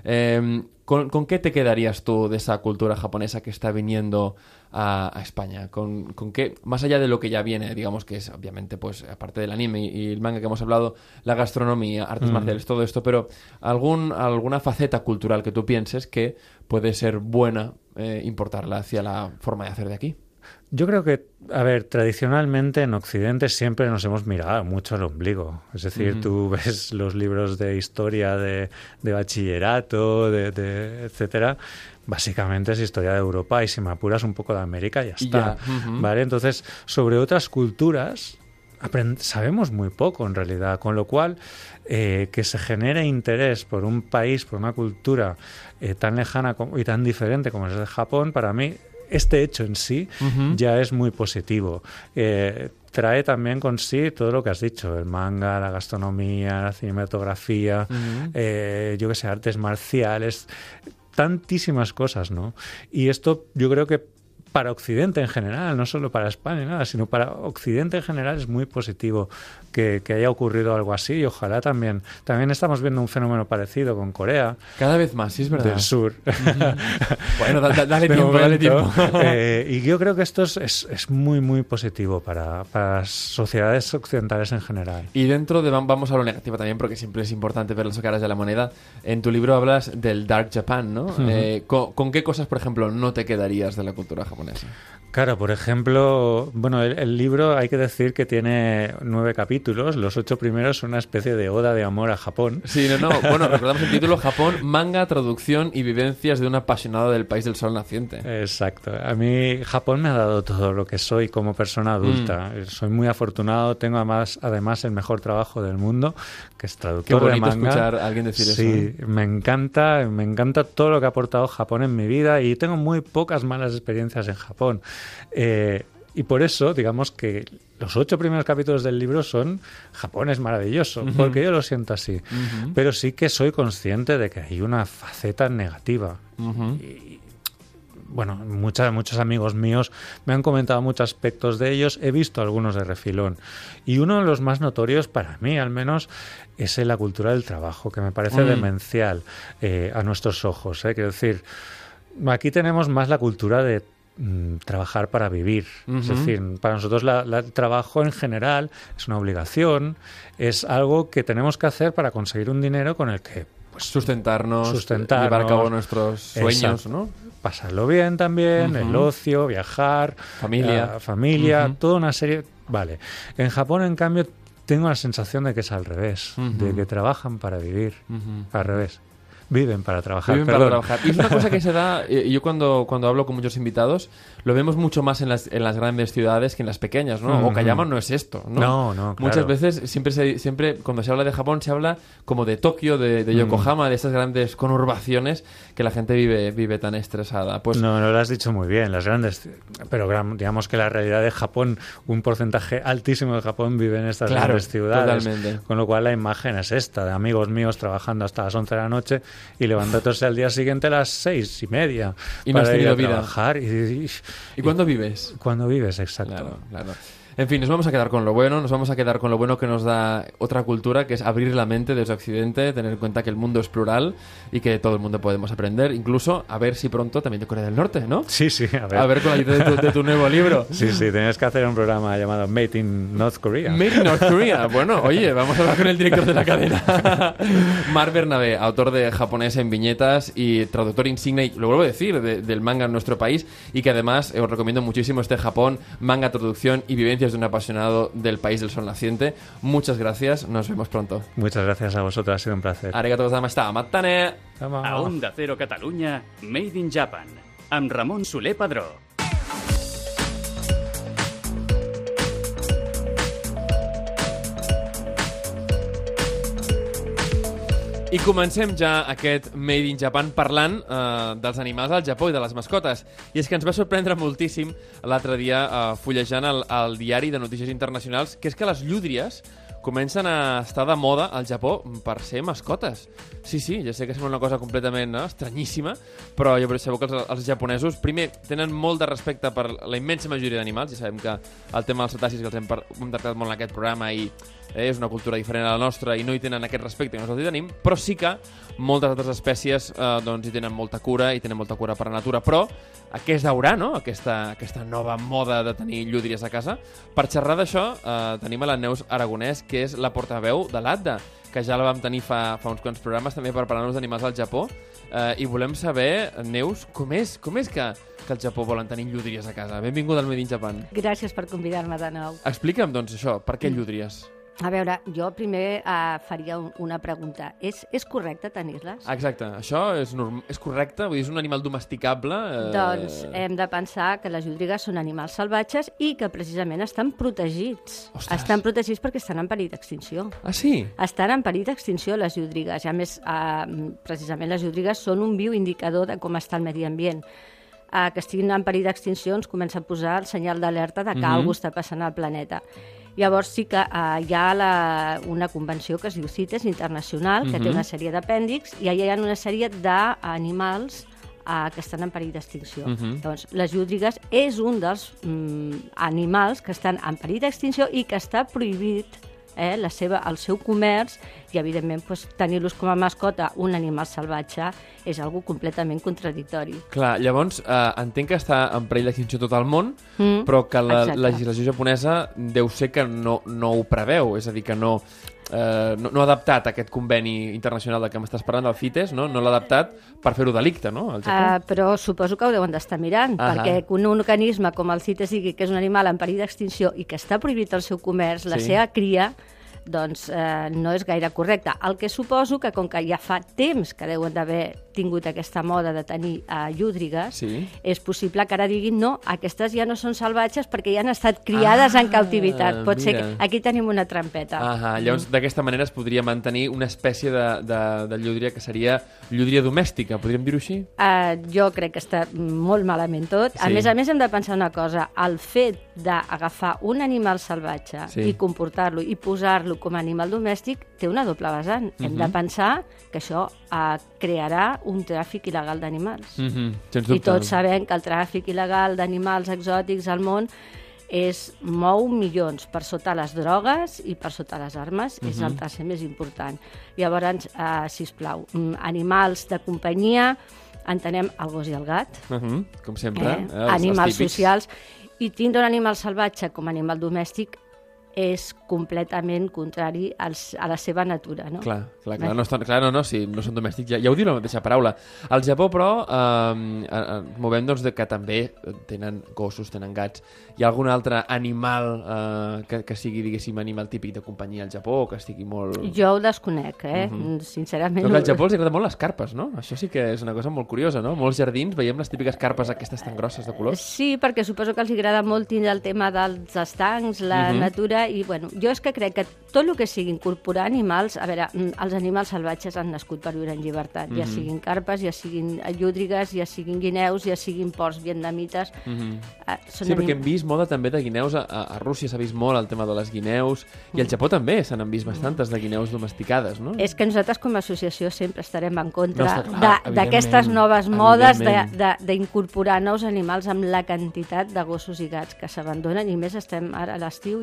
Eh, ¿con, ¿Con qué te quedarías tú de esa cultura japonesa que está viniendo a, a España? ¿Con, ¿Con qué, más allá de lo que ya viene, digamos que es, obviamente, pues aparte del anime y, y el manga que hemos hablado, la gastronomía, artes Mm. marciales, todo esto, pero algún, alguna faceta cultural que tú pienses que puede ser buena eh, importarla hacia la forma de hacer de aquí? Yo creo que, a ver, tradicionalmente en Occidente siempre nos hemos mirado mucho al ombligo. Es decir, Ujú. tú ves los libros de historia de, de bachillerato, de, de etcétera. Básicamente es historia de Europa y si me apuras un poco de América ya Y está. ya, ujú. ¿Vale? Entonces, sobre otras culturas aprend- sabemos muy poco en realidad, con lo cual eh, que se genere interés por un país, por una cultura eh, tan lejana como- y tan diferente como es el de Japón, para mí este hecho en sí Ujú. ya es muy positivo. Eh, trae también con sí todo lo que has dicho, el manga, la gastronomía, la cinematografía, Ujú. eh, yo que sé, artes marciales, tantísimas cosas, ¿no? Y esto yo creo que para Occidente en general, no solo para España, nada, sino para Occidente en general es muy positivo que, que haya ocurrido algo así y ojalá también. También estamos viendo un fenómeno parecido con Corea Cada vez más, sí es verdad. del Sur. Bueno, da- da- dale De tiempo, dale momento. tiempo. Eh, y yo creo que esto es, es, es muy, muy positivo para, para las sociedades occidentales en general. Y dentro de, vam- vamos a lo negativo también, porque siempre es importante ver las caras de la moneda. En tu libro hablas del Dark Japan, ¿no? Eh, ¿con, con qué cosas, por ejemplo, no te quedarías de la cultura japonesa? Claro, por ejemplo, bueno, el, el libro hay que decir que tiene nueve capítulos. Los ocho primeros son una especie de oda de amor a Japón. Sí, no, no. Bueno, recordamos el título: Japón, manga, traducción y vivencias de un apasionado del país del sol naciente. Exacto. A mí Japón me ha dado todo lo que soy como persona adulta. Mm. Soy muy afortunado. Tengo además, además el mejor trabajo del mundo, que es Qué traductor de bonito manga. escuchar a alguien decir sí, eso. ¿eh? me encanta, me encanta todo lo que ha aportado Japón en mi vida y tengo muy pocas malas experiencias en Japón. Eh, y por eso, digamos que los ocho primeros capítulos del libro son Japón es maravilloso, Ujú. porque yo lo siento así. Ujú. Pero sí que soy consciente de que hay una faceta negativa. Ujú. Y, bueno, muchas, muchos amigos míos me han comentado muchos aspectos de ellos, he visto algunos de refilón. Y uno de los más notorios, para mí al menos, es en la cultura del trabajo, que me parece Mm. demencial eh, a nuestros ojos. ¿eh? Quiero decir, aquí tenemos más la cultura de mm, trabajar para vivir. Es Ujú. decir, para nosotros la- la- el trabajo en general es una obligación, es algo que tenemos que hacer para conseguir un dinero con el que pues, Sustentarnos, Sustentarnos. llevar a cabo nuestros sueños, Exacto. ¿no? pasarlo bien también, Ujú. el ocio, viajar, Familia. eh, familia, Ujú. toda una serie. Vale. En Japón, en cambio, tengo la sensación de que es al revés, Ujú. de que trabajan para vivir, Ujú. al revés. Viven para trabajar, Viven para perdón. trabajar. Y es una cosa que se da, eh, yo cuando, cuando hablo con muchos invitados, lo vemos mucho más en las, en las grandes ciudades que en las pequeñas, ¿no? Ujú. Okayama no es esto, ¿no? No, no, claro. Muchas veces, siempre, se, siempre cuando se habla de Japón, se habla como de Tokio, de, de Yokohama, de estas grandes conurbaciones que la gente vive, vive tan estresada. Pues No, no lo has dicho muy bien, las grandes. Pero gram- digamos que la realidad de Japón, un porcentaje altísimo de Japón vive en estas Claro, grandes ciudades. totalmente. Con lo cual la imagen es esta, de amigos míos trabajando hasta las once de la noche y levantándose al día siguiente a las seis y media Y no has para ir a tenido vida. trabajar. Y, y- ¿y cuándo vives? cuando vives, exacto. Claro, claro. En fin, nos vamos a quedar con lo bueno, nos vamos a quedar con lo bueno que nos da otra cultura, que es abrir la mente desde Occidente, tener en cuenta que el mundo es plural y que todo el mundo podemos aprender, incluso a ver si pronto también de Corea del Norte, ¿no? Sí, sí, a ver. A ver con la ayuda de tu, de tu nuevo libro. Sí, sí, tenías que hacer un programa llamado Made in North Korea. Made in North Korea. Bueno, oye, vamos a hablar con el director de la cadena. Marc Bernabé, autor de Japonés en viñetas y traductor insigne, y lo vuelvo a decir, de- del manga en nuestro país, y que además eh, os recomiendo muchísimo este Japón, manga, traducción y vivencias experiencias de un apasionado del país del sol naciente. Muchas gracias, nos vemos pronto. Muchas gracias a vosotros, ha sido un placer. Arigato gozaimashita, matane! A Onda Cero Catalunya, Made in Japan, amb Ramon Soler Padró. I comencem ja aquest Made in Japan parlant eh, dels animals al Japó i de les mascotes. I és que ens va sorprendre moltíssim l'altre dia eh, fullejant el, el diari de notícies internacionals, que és que les llúdries comencen a estar de moda al Japó per ser mascotes. Sí, sí, ja sé que sembla una cosa completament no, estranyíssima, però ja sabeu que els, els japonesos, primer, tenen molt de respecte per la immensa majoria d'animals. Ja sabem que el tema dels cetacis, que els hem, par hem tractat molt en aquest programa, i eh, és una cultura diferent a la nostra i no hi tenen aquest respecte que nosaltres hi tenim, però sí que moltes altres espècies eh, doncs, hi tenen molta cura i tenen molta cura per la natura. Però què es deurà, no?, aquesta, aquesta nova moda de tenir llúdries a casa? Per xerrar d'això eh, tenim a la Neus Aragonès, que és la portaveu de l'A D D A, que ja la vam tenir fa, fa uns quants programes també per parlar-nos d'animals al Japó, eh, i volem saber, Neus, com és, com és que, que al Japó volen tenir llúdries a casa? Benvinguda al Made in Japan. Gràcies per convidar-me de nou. Explica'm, doncs, això, per què llúdries? A veure, jo primer uh, faria un, una pregunta. És, és correcte tenir-les? Exacte, això és, és correcte? Vull dir, és un animal domesticable? Eh... Doncs hem de pensar que les llúdrigues són animals salvatges i que precisament estan protegits. Ostres. Estan protegits perquè estan en perill d'extinció. Ah, sí? Estan en perill d'extinció les llúdrigues. I a més, uh, precisament les llúdrigues són un viu indicador de com està el medi ambient. Uh, que estiguin en perill d'extinció ens comença a posar el senyal d'alerta de que mm-hmm. alguna cosa està passant al planeta. Llavors sí que uh, hi ha la, una convenció que es diu CITES internacional, que mm-hmm. té una sèrie d'apèndix, i allà hi ha una sèrie d'animals uh, que estan en perill d'extinció. Mm-hmm. Doncs les llúdrigues és un dels mm, animals que estan en perill d'extinció i que està prohibit eh, la seva, el seu comerç, i evidentment pues, tenir-los com a mascota un animal salvatge és algo completament contradictori. Clar, llavors eh, entenc que està en perill d'extinció tot el món, mm, però que la exacte. legislació japonesa deu ser que no, no ho preveu, és a dir, que no, eh, no, no ha adaptat aquest conveni internacional del que m'estàs parlant, del CITES, no, no l'ha adaptat per fer-ho delicte, no? Al Japó. Uh, però suposo que ho deuen d'estar mirant, uh -huh. perquè un organisme com el CITES digui que és un animal en perill d'extinció i que està prohibit el seu comerç, la sí. seva cria, doncs eh, no és gaire correcte. El que suposo que, com que ja fa temps que deuen d'haver tingut aquesta moda de tenir eh, llúdrigues, sí. és possible que ara diguin no, aquestes ja no són salvatges perquè ja han estat criades ah, en captivitat. Pot mira. ser que aquí tenim una trampeta. Ah, llavors, d'aquesta manera es podria mantenir una espècie de, de, de llúdria que seria llúdria domèstica, podríem dir-ho així? Uh, jo crec que està molt malament tot. Sí. A més a més, hem de pensar una cosa. El fet d'agafar un animal salvatge sí. i comportar-lo i posar-lo com a animal domèstic té una doble vessant. Uh-huh. Hem de pensar que això uh, crearà un tràfic il·legal d'animals. Uh-huh. Sens dubte. I tots sabem que el tràfic il·legal d'animals exòtics al món és mou milions per sota les drogues i per sota les armes. Uh-huh. És el tercer més important. Llavors, uh, sisplau, animals de companyia, entenem el gos i el gat. Uh-huh. Com sempre. Eh? Eh, els, animals els socials. I tindre un animal salvatge com a animal domèstic és completament contrari als, a la seva natura, no? Clar, clar, clar, no, estan, clar no, no, si no són domèstics, ja, ja ho diu la mateixa paraula. Al Japó, però, eh, eh, movem doncs, de que també tenen gossos, tenen gats. Hi ha algun altre animal eh, que, que sigui, diguéssim, animal típic de companyia al Japó, o que estigui molt... Jo ho desconec, eh? Uh-huh. Sincerament... Però al Japó els agrada molt les carpes, no? Això sí que és una cosa molt curiosa, no? Molts jardins veiem les típiques carpes aquestes tan grosses de colors. Sí, perquè suposo que els agrada molt tindre el tema dels estancs, la uh-huh. natura, i bueno, jo és que crec que tot el que sigui incorporar animals, a veure, els animals salvatges han nascut per viure en llibertat, mm-hmm. ja siguin carpes, ja siguin llúdrigues, ja siguin guineus, ja siguin porcs vietnamites. Mm-hmm. uh, sí, anim... perquè hem vist moda també de guineus, a, a Rússia s'ha vist molt el tema de les guineus, mm. i al Japó també se n'han vist bastantes de guineus domesticades, no? És que nosaltres com a associació sempre estarem en contra no, d'aquestes noves modes d'incorporar nous animals amb la quantitat de gossos i gats que s'abandonen, i més estem ara a l'estiu i això ja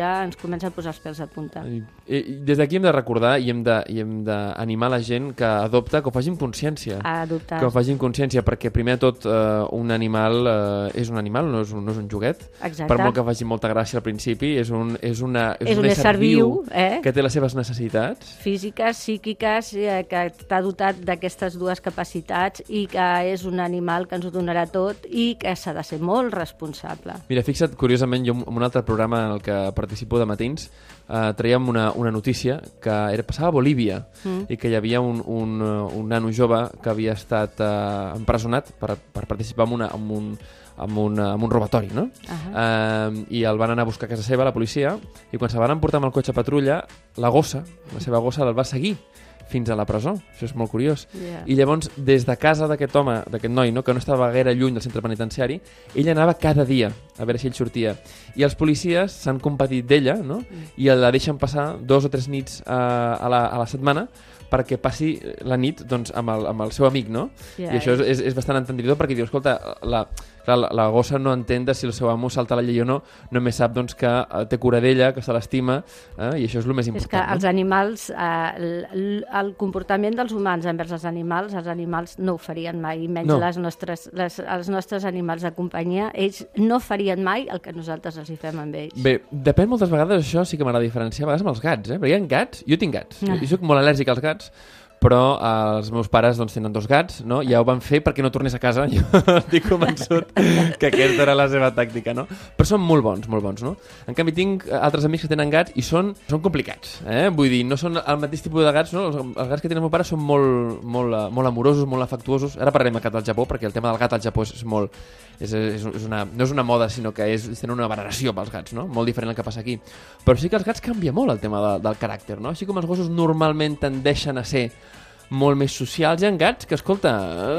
ja ens comença a posar els pèls a punta. I, i des d'aquí hem de recordar i hem de, i hem d'animar la gent que adopta, que ho faci amb consciència. A adoptar. Que ho faci amb consciència, perquè primer de tot eh, un animal eh, és un animal, no és un, no és un joguet. Exacte. Per molt que faci molta gràcia al principi, és un, és una, és és un, un ésser ésser viu, viu eh? que té les seves necessitats. Físiques, psíquiques, eh, que està dotat d'aquestes dues capacitats i que és un animal que ens ho donarà tot i que s'ha de ser molt responsable. Mira, fixa't, curiosament, jo en un altre programa en el que participo de matins eh, traiem una, una notícia que era, passava a Bolívia mm. i que hi havia un, un, un nano jove que havia estat eh, empresonat per, per participar en, una, en un amb un, amb un robatori, no? Uh -huh. uh, I el van anar a buscar a casa seva, la policia, i quan se van emportar amb el cotxe a patrulla, la gossa, la seva gossa, el va seguir fins a la presó. Això és molt curiós. Yeah. I llavors, des de casa d'aquest home, d'aquest noi, no?, que no estava gaire lluny del centre penitenciari, ell anava cada dia a veure si ell sortia. I els policies s'han compadit d'ella, no?, i la deixen passar dos o tres nits a, a, la, a la setmana perquè passi la nit doncs, amb, el, amb el seu amic, no? Yeah. I això és, és, és bastant entendidor perquè diu, escolta, la, clar, la, la gossa no entén de si el seu amo salta la llei o no, només sap doncs, que eh, té cura d'ella, que se l'estima, eh, i això és el més important. És que no? els animals, eh, el, el comportament dels humans envers els animals, els animals no ho farien mai, menys No. les nostres, les, els nostres animals de companyia, ells no farien mai el que nosaltres els hi fem amb ells. Bé, depèn moltes vegades, això sí que m'agrada diferenciar, a vegades amb els gats, eh? Perquè hi ha gats, jo tinc gats, Ah. jo soc molt al·lèrgic als gats, però eh, els meus pares doncs, tenen dos gats, no? Ja ho van fer perquè no tornés a casa, jo estic convençut que aquesta era la seva tàctica, no? Però són molt bons, molt bons, no? En canvi tinc altres amics que tenen gats i són, són complicats, eh? Vull dir, no són el mateix tipus de gats, no? Els, els gats que tenen el meu pare són molt, molt, eh, molt amorosos, molt afectuosos. Ara parlarem del gat al Japó, perquè el tema del gat al Japó és, és molt... És, és, és una, no és una moda, sinó que és, tenen una veneració pels gats, no? Molt diferent del que passa aquí. Però sí que els gats canvia molt el tema de, del caràcter, no? Així com els gossos normalment tendeixen a ser molt més socials, hi ha gats que, escolta...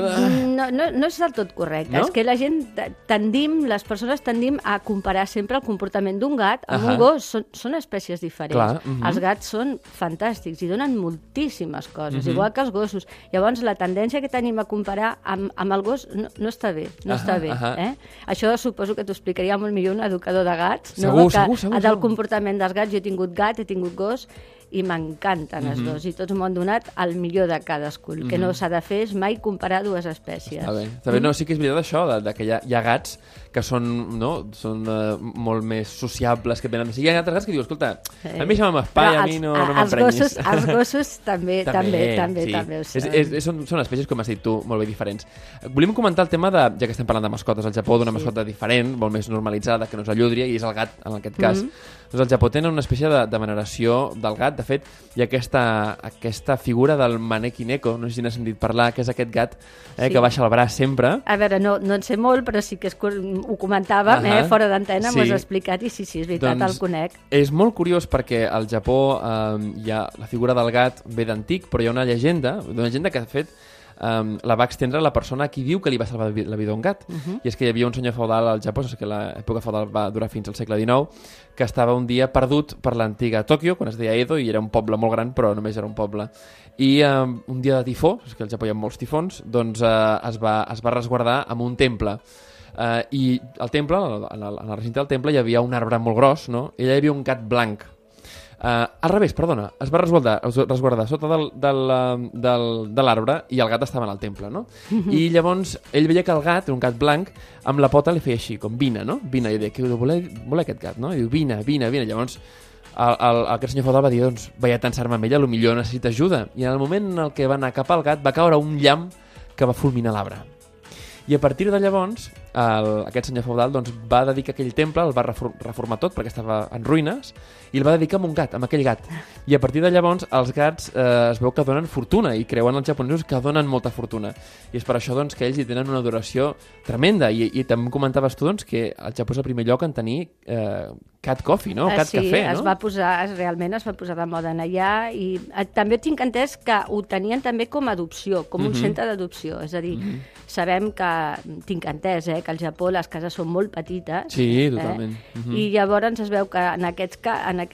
No, no, no és del tot correcte. No? És que la gent tendim, les persones tendim a comparar sempre el comportament d'un gat amb Ahà. un gos. Són, són espècies diferents. Clar, mhm. Els gats són fantàstics i donen moltíssimes coses, Mhm. igual que els gossos. Llavors, la tendència que tenim a comparar amb, amb el gos no, no està bé. No Ahà, està bé ahà. eh? Això suposo que t'ho explicaria molt millor un educador de gats. Segur, no? que, segur, segur, Del segur. comportament dels gats. Jo he tingut gat, he tingut gos, i m'encanten els Mhm. dos, i tots m'ho han donat el millor de cadascun. El que no s'ha de fer és mai comparar dues espècies. Està bé, està bé. No, sí que és veritat això, de, de que hi ha, hi ha gats que són, no, són uh, molt més sociables, que venen... Hi ha altres gats que diu, escolta, a mi això m'espai, a mi no, no els m'emprenyis. gossos, els gossos també, també, també, sí. també ho és, són. és, és, són, són espècies, com has dit tu, molt bé diferents. Volíem comentar el tema de, ja que estem parlant de mascotes al Japó, d'una Sí. mascota diferent, molt més normalitzada, que no és la llúdria, i és el gat, en aquest cas. Mhm. Doncs al Japó tenen una espècie de, de veneració del gat. De fet, hi ha aquesta, aquesta figura del Maneki Neko, no sé si n'has sentit parlar, que és aquest gat eh, Sí. que baixa el braç sempre. A veure, no, no en sé molt, però sí que es, ho comentàvem, Ahà. eh, fora d'antena, Sí. m'ho has explicat, i sí, sí, és veritat, Doncs el conec. És molt curiós perquè al Japó eh, hi ha la figura del gat ve d'antic, però hi ha una llegenda, una llegenda que de fet um, la va extendre la persona a qui diu que li va salvar la vi- la vida a un gat. Uh -huh. I és que hi havia un senyor feudal al Japó, saps que l'època feudal va durar fins al segle dinou, que estava un dia perdut per l'antiga Tòquio, quan es deia Edo, i era un poble molt gran, però només era un poble. I um, un dia de tifó, és que al Japó hi ha molts tifons, doncs uh, es, va, es va resguardar en un temple. Uh, I al temple, en el, en el recinte del temple, hi havia un arbre molt gros, no? I allà hi havia un gat blanc. Uh, al revés, perdona, es va resguardar, es resguardar sota del, del, eh, del, de l'arbre i el gat estava en el temple, no? I llavors ell veia que el gat, un gat blanc, amb la pota li feia així, com vine, no? Vine, i deia, que voler, voler aquest gat, no? I diu, vine, vine, vine. Llavors el, el, aquest senyor feudal va dir, doncs, vaig a tensar-me amb ella, potser necessita ajuda. I en el moment en el que va anar cap al gat va caure un llamp que va fulminar l'arbre. I a partir de llavors, el, aquest senyor feudal doncs, va dedicar aquell temple, el va refor reformar tot perquè estava en ruïnes, i el va dedicar a un gat, amb aquell gat. I a partir de llavors els gats eh, es veu que donen fortuna, i creuen els japonesos que donen molta fortuna. I és per això doncs, que ells hi tenen una adoració tremenda. I, i també comentaves tu doncs, que el Japó és el primer lloc en tenir eh, cat coffee, no? Eh, Cat sí, cafè, no? es va posar, es, realment es va posar de moda en allà, i eh, també tinc entès que ho tenien també com a adopció, com un Mhm. centre d'adopció. És a dir, Mhm. sabem que, tinc entès, eh, que al Japó les cases són molt petites. Sí, totalment. Eh? Mhm. I llavors es veu que en aquests, ca- en aquests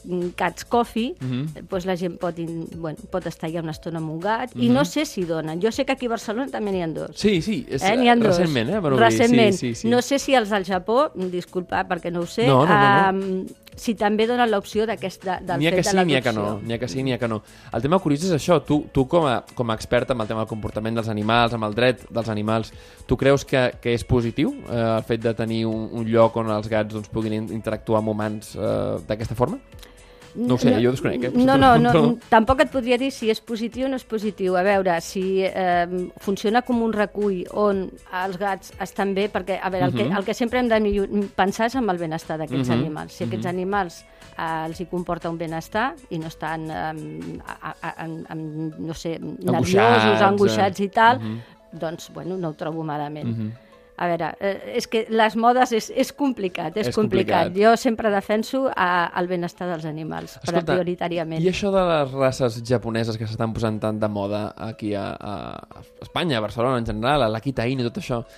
Cats Coffee, Mhm. doncs la gent pot, in, bueno, pot estar allà una estona amb un gat, i Mhm. no sé si donen. Jo sé que aquí a Barcelona també n'hi ha dos. Sí, sí, és, Eh, n'hi ha dos. recentment, eh? per obrir. Recentment. Sí, sí, sí. No sé si els del Japó, disculpa, perquè no ho sé, No, no, no, no. Um, si també donen l'opció d'aquest de, del N'hi ha fet que de sí, n'hi ha que l'adopció. no. N'hi ha que sí, n'hi ha que no. El tema curiós és això. Tu, tu com, a, com a experta en el tema del comportament dels animals, amb el dret dels animals, tu creus que, que és positiu eh, el fet de tenir un, un lloc on els gats doncs, puguin in- interactuar amb humans eh, d'aquesta forma? No ho sé, jo desconec. Eh? No, no, no, Però- tampoc et podria dir si és positiu o no és positiu. A veure, si eh, funciona com un recull on els gats estan bé, perquè, a veure, el, que, Mhm. el que sempre hem de millor- pensar és en el benestar d'aquests Mhm. animals. Si aquests animals eh, els hi comporta un benestar i no estan, eh, a, a, a, a, no sé, nerviosos, angoixats i tal, Mhm. doncs, bueno, no ho trobo malament. Mhm. A veure, eh, és que les modes és, és complicat, és, És complicat. complicat. Jo sempre defenso a, el benestar dels animals, però Escolta, prioritàriament. I això de les races japoneses que s'estan posant tant de moda aquí a, a, a Espanya, a Barcelona en general, a l'Akita Inu i tot això,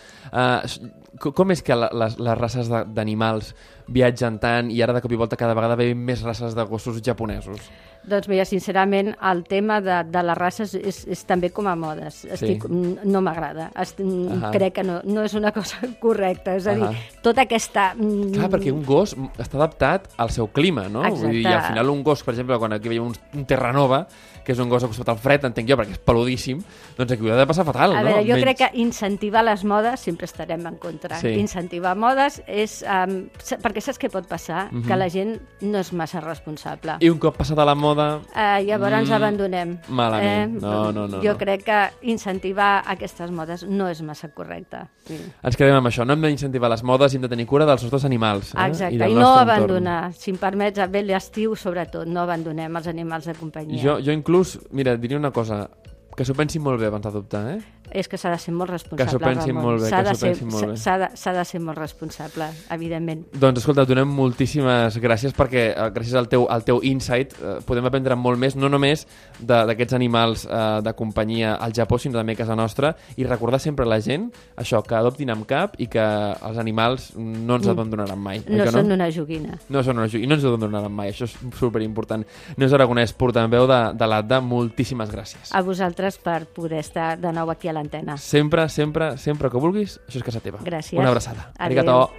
uh, com és que la, les, les races de- d'animals viatgen tant i ara de cop i volta cada vegada veiem més races de gossos japonesos? Doncs mira, sincerament, el tema de, de les races és, és també com a modes. Estic, n- No m'agrada. Est- Ahà. Crec que no, no és una cosa correcta. És a dir, Ahà. tota aquesta... mm, Clar, perquè un gos està adaptat al seu clima, no? Vull dir, i al Exacte. final un gos, per exemple, quan aquí veiem un, un Terranova, que és un gos acostat al fred, entenc jo, perquè és peludíssim, doncs aquí ho ha de passar fatal, A no? veure, jo Almenys- crec que incentivar les modes sempre estarem en contra. Sí. Incentivar modes és... Um, perquè saps què pot passar? Mhm. Que la gent no és massa responsable. I un cop passada la moda... Uh, llavors ens Mm, abandonem. malament. No, no, no, Jo no. crec que incentivar aquestes modes no és massa correcte. Sí. Ens quedem amb això. No hem d'incentivar les modes i hem de tenir cura dels nostres animals. Eh? Exacte, del i no nostre entorn. abandonar. Si em permets, bé l'estiu, sobretot, no abandonem els animals de companyia. Jo, jo inclús, mira, et diria una cosa, que s'ho pensin molt bé abans d'adoptar, eh? És que s'ha de ser molt responsable, Que s'ho pensin Ramon. molt bé, S'ha que de s'ho ser- pensin molt bé. S'ha de, s'ha de ser molt responsable, evidentment. Doncs escolta, et donem moltíssimes gràcies perquè eh, gràcies al teu, al teu insight eh, podem aprendre molt més, no només de- d'aquests animals eh, de companyia al Japó, sinó també a casa nostra, i recordar sempre a la gent això, que adoptin amb cap i que els animals no ens abandonaran mai. No oi que són una joguina. No són una joguina, i no ens abandonaran mai, això és superimportant. Neus Aragonès, portaveu de, de l'A D D A, moltíssimes gràcies. A vosaltres per poder estar de nou aquí a l'antena. Sempre, sempre, sempre que vulguis, això és casa teva. Gràcies. Una abraçada. Adéu. Arigato.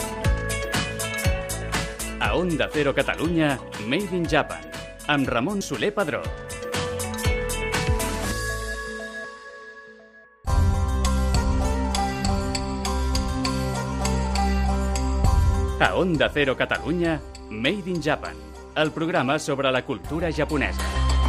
A Onda Cero Catalunya, Made in Japan, amb Ramon Soler Padró. A Onda Cero Catalunya, Made in Japan, el programa sobre la cultura japonesa.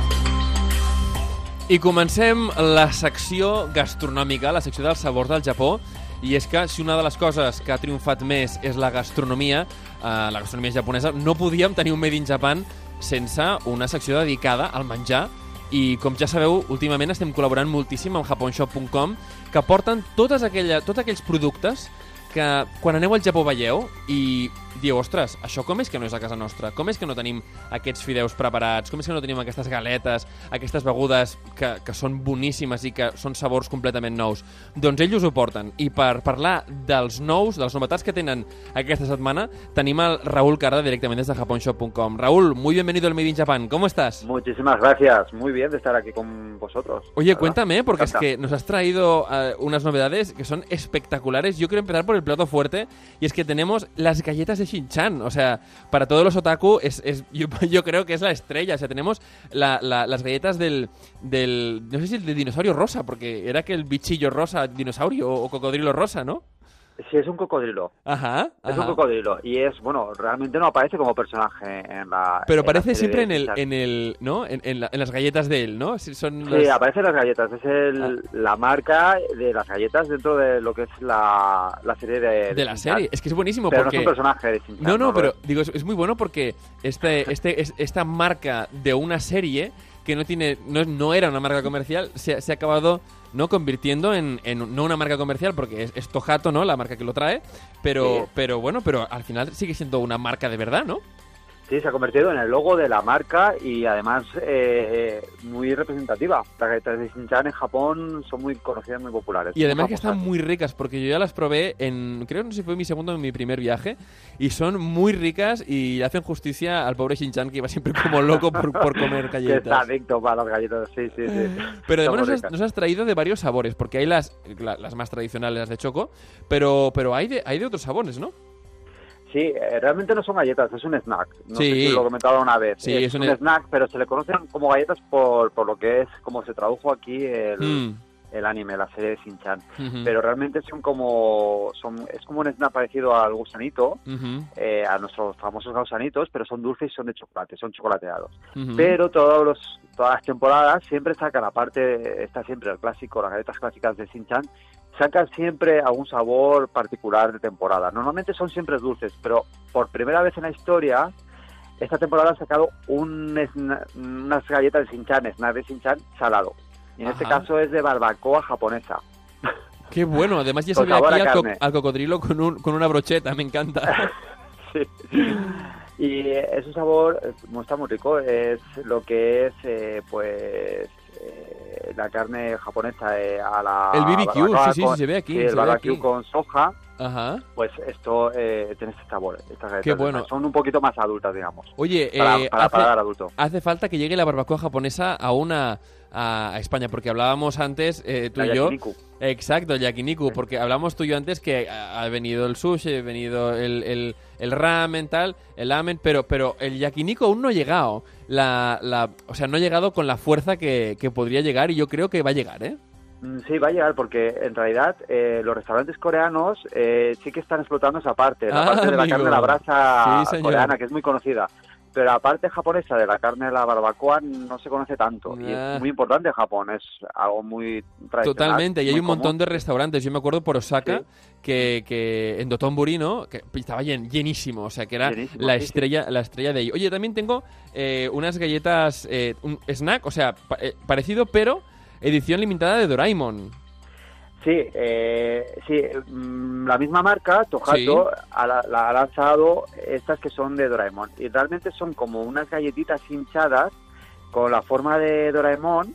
I comencem la secció gastronòmica, la secció dels sabors del Japó, i és que si una de les coses que ha triomfat més és la gastronomia, eh, la gastronomia japonesa, no podíem tenir un Made in Japan sense una secció dedicada al menjar, i com ja sabeu, últimament estem col·laborant moltíssim amb japonshop punt com, que porten totes aquella, tots aquells productes que quan aneu al Japó veieu i dieu, ostres, això com és que no és a casa nostra? Com és que no tenim aquests fideus preparats? Com és que no tenim aquestes galetes, aquestes begudes que, que són boníssimes i que són sabors completament nous? Doncs ells ho porten. I per parlar dels nous, de les novetats que tenen aquesta setmana, tenim el Raúl Carda directament des de japonshop punt com. Raúl, muy bienvenido al Made in Japan. ¿Cómo estás? Muchísimas gracias, muy bien de estar aquí con vosotros. Oye, ¿verdad? cuéntame, porque es Encanta. que nos has traído uh, unas novedades que son espectaculares. Yo quiero empezar por el plato fuerte, y es que tenemos las galletas de Shin-chan. O sea, para todos los otaku, es, es, yo, yo creo que es la estrella. O sea, tenemos la, la, las galletas del, del... No sé si el de dinosaurio rosa, porque era que el bichillo rosa, dinosaurio o cocodrilo rosa, ¿no? Sí, es un cocodrilo. Ajá, Es ajá. un cocodrilo. Y es, bueno, realmente no aparece como personaje en la... Pero en la aparece serie siempre de en el, Shin-chan. en el, ¿no? En, en, la- en las galletas de él, ¿no? Si son Sí, las- aparecen las galletas. Es el, Ah. la marca de las galletas dentro de lo que es la, la serie de... de la Shin-chan. serie. Es que es buenísimo Pero porque... no es un personaje de Shin-chan. No, no, pero Robert? digo, es, es muy bueno porque este, este, es- esta marca de una serie que no tiene, no, no era una marca comercial, se, se ha acabado no convirtiendo en, en no una marca comercial porque es, es Tohato, ¿no? La marca que lo trae, pero, Sí. pero bueno, pero al final sigue siendo una marca de verdad, ¿no? Sí, se ha convertido en el logo de la marca y además eh, muy representativa. Las galletas de Shin-chan en Japón son muy conocidas, muy populares. Y además muy que están famosas. muy ricas, porque yo ya las probé en, creo no sé si fue mi segundo o mi primer viaje, y son muy ricas y hacen justicia al pobre Shin-chan que iba siempre como loco por, por comer Que está galletas. adicto para las galletas, sí, sí, sí. Pero Son además muy nos has, ricas. nos has traído de varios sabores, porque hay las, la- las más tradicionales, las de choco, pero, pero hay, de, hay de otros sabores, ¿no? Sí, eh, realmente no son galletas, es un snack. No Sí. sé si lo he comentado una vez. Sí, es, es un un e- snack, pero se le conocen como galletas por, por lo que es, como se tradujo aquí el, Mm. el anime, la serie de Shin-chan. Ujú. Pero realmente son como, son, es como un snack parecido al gusanito, Ujú. eh, a nuestros famosos gusanitos, pero son dulces y son de chocolate, son chocolateados. Ujú. Pero todos los, todas las temporadas siempre sacan, aparte, está siempre el clásico, las galletas clásicas de Shin-chan, sacan siempre algún sabor particular de temporada. Normalmente son siempre dulces, pero por primera vez en la historia, esta temporada han sacado un sna- unas galletas de Shin-chan, snack de Shin-chan salado. Y en este Ajá. caso es de barbacoa japonesa. Qué bueno, además ya se Con ve sabor aquí a al, co- carne. al cocodrilo con, un, con una brocheta, me encanta. Sí. Y eh, es un sabor, eh, muy- está muy rico, es lo que es, eh, pues, eh, la carne japonesa eh, a la El B B Q, barbacoa sí, sí, con- sí, se ve aquí, sí, se el ve barbecue aquí. con soja, Ajá. pues esto eh, tiene este sabor. Estas galletas Qué bueno. son un poquito más adultas, digamos, Oye, para, eh, para hace, paladar adulto. hace falta que llegue la barbacoa japonesa a una a, a España, porque hablábamos antes, eh, tú La y yo. yakiniku. Exacto, el yakiniku, porque hablamos tú y yo antes que ha, ha venido el sushi, ha venido el, el, el ramen, tal, el ramen, pero, pero el yakiniku aún no ha llegado. La, la, o sea, no ha llegado con la fuerza que, que podría llegar y yo creo que va a llegar, ¿eh? Mm, Sí, va a llegar porque en realidad eh, los restaurantes coreanos eh, sí que están explotando esa parte, la Ah, parte de la amigo. carne a la brasa Sí, señor. coreana, que es muy conocida. Pero la parte japonesa de la carne de la barbacoa no se conoce tanto. Y Ah. es muy importante en Japón, es algo muy tradicional. Totalmente, y hay muy un montón común. de restaurantes. Yo me acuerdo por Osaka Sí. que, que en Dotonbori, ¿no? Que estaba llen- llenísimo, o sea, que era Llenísimo, la sí, sí. estrella la estrella de ahí. Oye, también tengo eh, unas galletas, eh, un snack, o sea, pa- eh, parecido, pero edición limitada de Doraemon. Sí, eh, sí mm, la misma marca, Tohato, Sí. ha, la- la ha lanzado estas que son de Doraemon. Y realmente son como unas galletitas hinchadas con la forma de Doraemon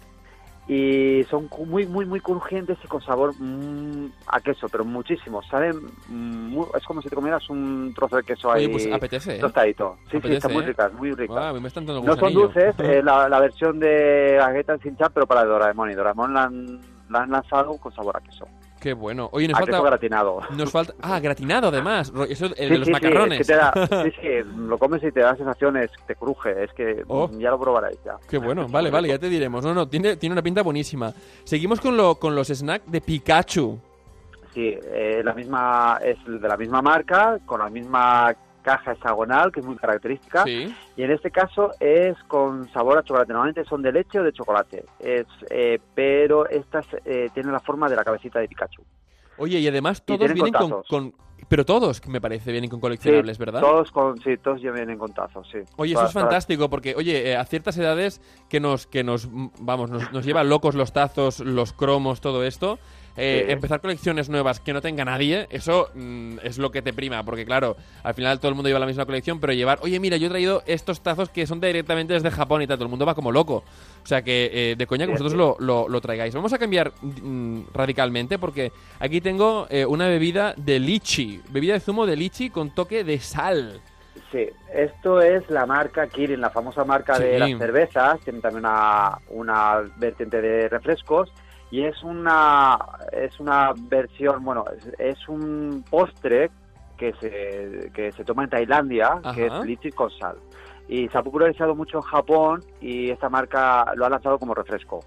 y son cu- muy, muy, muy crujientes y con sabor mm, a queso, pero muchísimo. Saben, mm, muy- es como si te comieras un trozo de queso ahí Oye, pues apetece, ¿eh? tostadito. Sí, Apetece, sí, están muy ¿eh? ricas, muy ricas. Guau, a mí me están dando No son gusanillo. dulces, es la, la versión de galletas sin chan, pero para Doraemon. Y Doraemon la han, la han lanzado con sabor a queso. Qué bueno. Oye, nos A queso falta... gratinado. Nos falta... Ah, gratinado además. Ro- Eso, el Sí, de los sí, macarrones. Sí, es que te da- sí, sí, lo comes y te da sensaciones, te cruje. Es que Oh. mm, ya lo probaréis ya. Qué bueno, vale, vale, ya te diremos. No, no, tiene, tiene una pinta buenísima. Seguimos con, lo, con los snacks de Pikachu. Sí, eh, la misma, es de la misma marca, con la misma caja hexagonal, que es muy característica. Sí. Y en este caso es con sabor a chocolate. Normalmente son de leche o de chocolate. Es, eh, pero estas eh, tienen la forma de la cabecita de Pikachu. Oye, y además Y todos tienen vienen con, contazos. con... Pero todos, me parece, vienen con coleccionables, Sí, ¿verdad? Todos con, sí, todos ya vienen con tazos, sí. Oye, eso Todas- es fantástico, porque, oye, eh, a ciertas edades que nos, que nos mm, vamos, nos, nos lleva locos los tazos, los cromos, todo esto, eh, Sí. empezar colecciones nuevas que no tenga nadie, eso mm, es lo que te prima, porque claro, al final todo el mundo lleva la misma colección, pero llevar, oye, mira, yo he traído estos tazos que son directamente desde Japón y tal, todo el mundo va como loco. O sea que, eh, de coña, que Sí, vosotros sí. lo, lo, lo traigáis. Vamos a cambiar mm, radicalmente, porque aquí tengo eh, una bebida de lichi, bebida de zumo de lichi con toque de sal. Sí, esto es la marca Kirin, la famosa marca Sí. de las cervezas. Tiene también una, una vertiente de refrescos. Y es una, es una versión, bueno, es, es un postre que se, que se toma en Tailandia, que Ajá. es lichi con sal. Y se ha popularizado mucho en Japón y esta marca lo ha lanzado como refresco.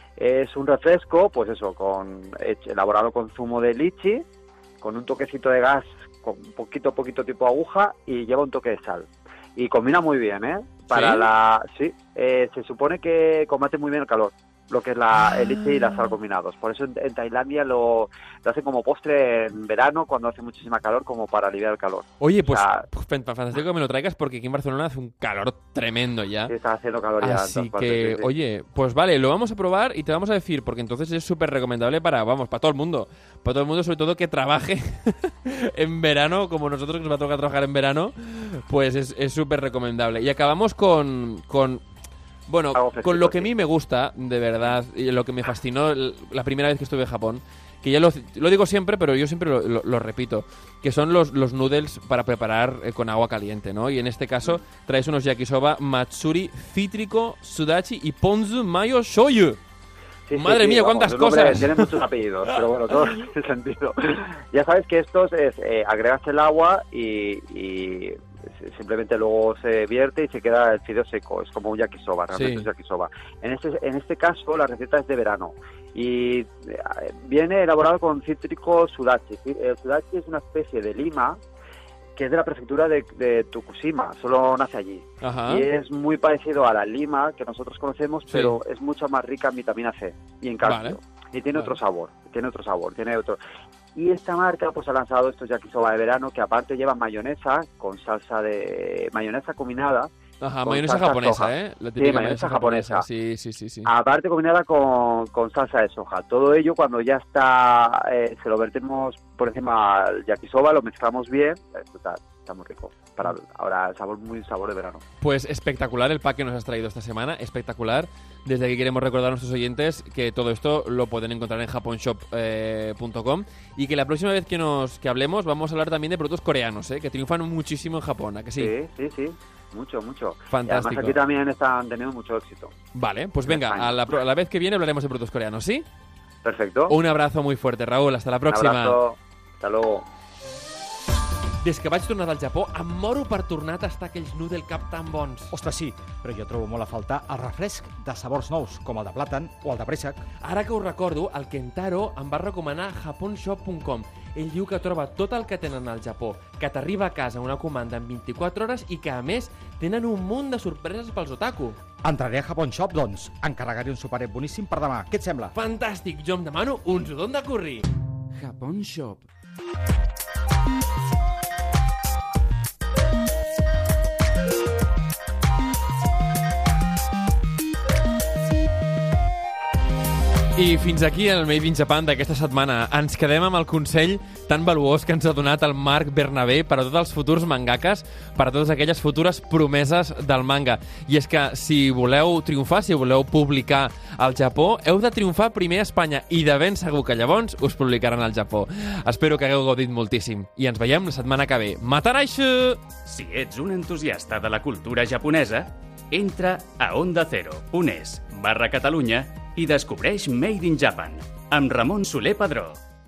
Es un refresco, pues eso, con hecho- elaborado con zumo de lichi, con un toquecito de gas, con poquito, poquito tipo aguja y lleva un toque de sal. Y combina muy bien, ¿eh? Para ¿Sí? la... Sí, eh, se supone que combate muy bien el calor. lo que es la, el leche y la sal combinados. Por eso en, en Tailandia lo, lo hacen como postre en verano, cuando hace muchísima calor, como para aliviar el calor. Oye, pues, O sea, pues fantástico que me lo traigas, porque aquí en Barcelona hace un calor tremendo ya. sí, está haciendo calor ya. en Así todas partes, que, sí, sí. oye, pues vale, lo vamos a probar y te vamos a decir, porque entonces es súper recomendable para, vamos, para todo el mundo. Para todo el mundo, sobre todo que trabaje en verano, como nosotros que nos va a tocar trabajar en verano, pues es súper recomendable. Y acabamos con... con Bueno, Algo fresquito, con lo que a sí. mí me gusta, de verdad, y lo que me fascinó l- la primera vez que estuve en Japón, que ya lo, lo digo siempre, pero yo siempre lo, lo- lo repito, que son los, los noodles para preparar eh, con agua caliente, ¿no? Y en este caso traes unos yakisoba matsuri, cítrico, sudachi y ponzu mayo shoyu. Sí, sí, Madre sí, mía, vamos, cuántas el nombre cosas. Tiene muchos apellidos, pero bueno, todo tiene sentido. Ya sabes que estos es, eh, agregas el agua y, y simplemente luego se vierte y se queda el fideo seco. Es como un yakisoba, realmente Sí. es yakisoba. En este, en este caso, la receta es de verano y eh, viene elaborado con cítrico sudachi. El sudachi es una especie de lima que es de la prefectura de, de Tokushima, solo nace allí. Ajá. Y es muy parecido a la lima que nosotros conocemos, Sí. pero es mucho más rica en vitamina C y en calcio. Vale. Y tiene Vale. otro sabor, tiene otro sabor, tiene otro... Y esta marca pues ha lanzado estos yakisoba de verano que aparte llevan mayonesa con salsa de... mayonesa combinada. Ajá, con mayonesa salsa japonesa, soja. ¿eh? La Sí, típica mayonesa japonesa. Sí, sí, sí, sí. Aparte combinada con, con salsa de soja. Todo ello cuando ya está, eh, se lo vertemos por encima al yakisoba, lo mezclamos bien, eh, total, está muy rico. Para ahora el sabor, muy sabor de verano. Pues espectacular el pack que nos has traído esta semana, espectacular. Desde aquí queremos recordar a nuestros oyentes que todo esto lo pueden encontrar en japonshop punto com y que la próxima vez que nos que hablemos vamos a hablar también de productos coreanos, ¿eh? Que triunfan muchísimo en Japón, ¿a que sí? Sí, sí, sí, mucho, mucho. Fantástico. Y además aquí también están teniendo mucho éxito. Vale, pues En venga, España. a la, pro- a la vez que viene hablaremos de productos coreanos, ¿sí? Perfecto. Un abrazo muy fuerte, Raúl, hasta la Un próxima. abrazo. Hasta luego. Des que vaig tornar del Japó, em moro per tornar a tastar aquells noodle cup tan bons. Ostres, sí, però jo trobo molt a faltar el refresc de sabors nous, com el de plàtan o el de préssec. Ara que ho recordo, el Kentaro em va recomanar japonshop punt com. Ell diu que troba tot el que tenen al Japó, que t'arriba a casa una comanda en vint-i-quatre hores i que, a més, tenen un munt de sorpreses pels otaku. Entraré a Japon Shop, doncs. Encarregaré un superet boníssim per demà. Què et sembla? Fantàstic, jo em demano un sudon de curri. Japón Shop. I fins aquí el Made in Japan d'aquesta setmana. Ens quedem amb el consell tan valuós que ens ha donat el Marc Bernabé per a tots els futurs mangakas, per a totes aquelles futures promeses del manga. I és que si voleu triomfar, si voleu publicar al Japó, heu de triomfar primer a Espanya i de ben segur que llavors us publicaran al Japó. Espero que hagueu gaudit moltíssim i ens veiem la setmana que ve. Mataraishu! Si ets un entusiasta de la cultura japonesa, entra a onda cero punt es barra Catalunya i descobreix Made in Japan amb Ramon Soler Padró.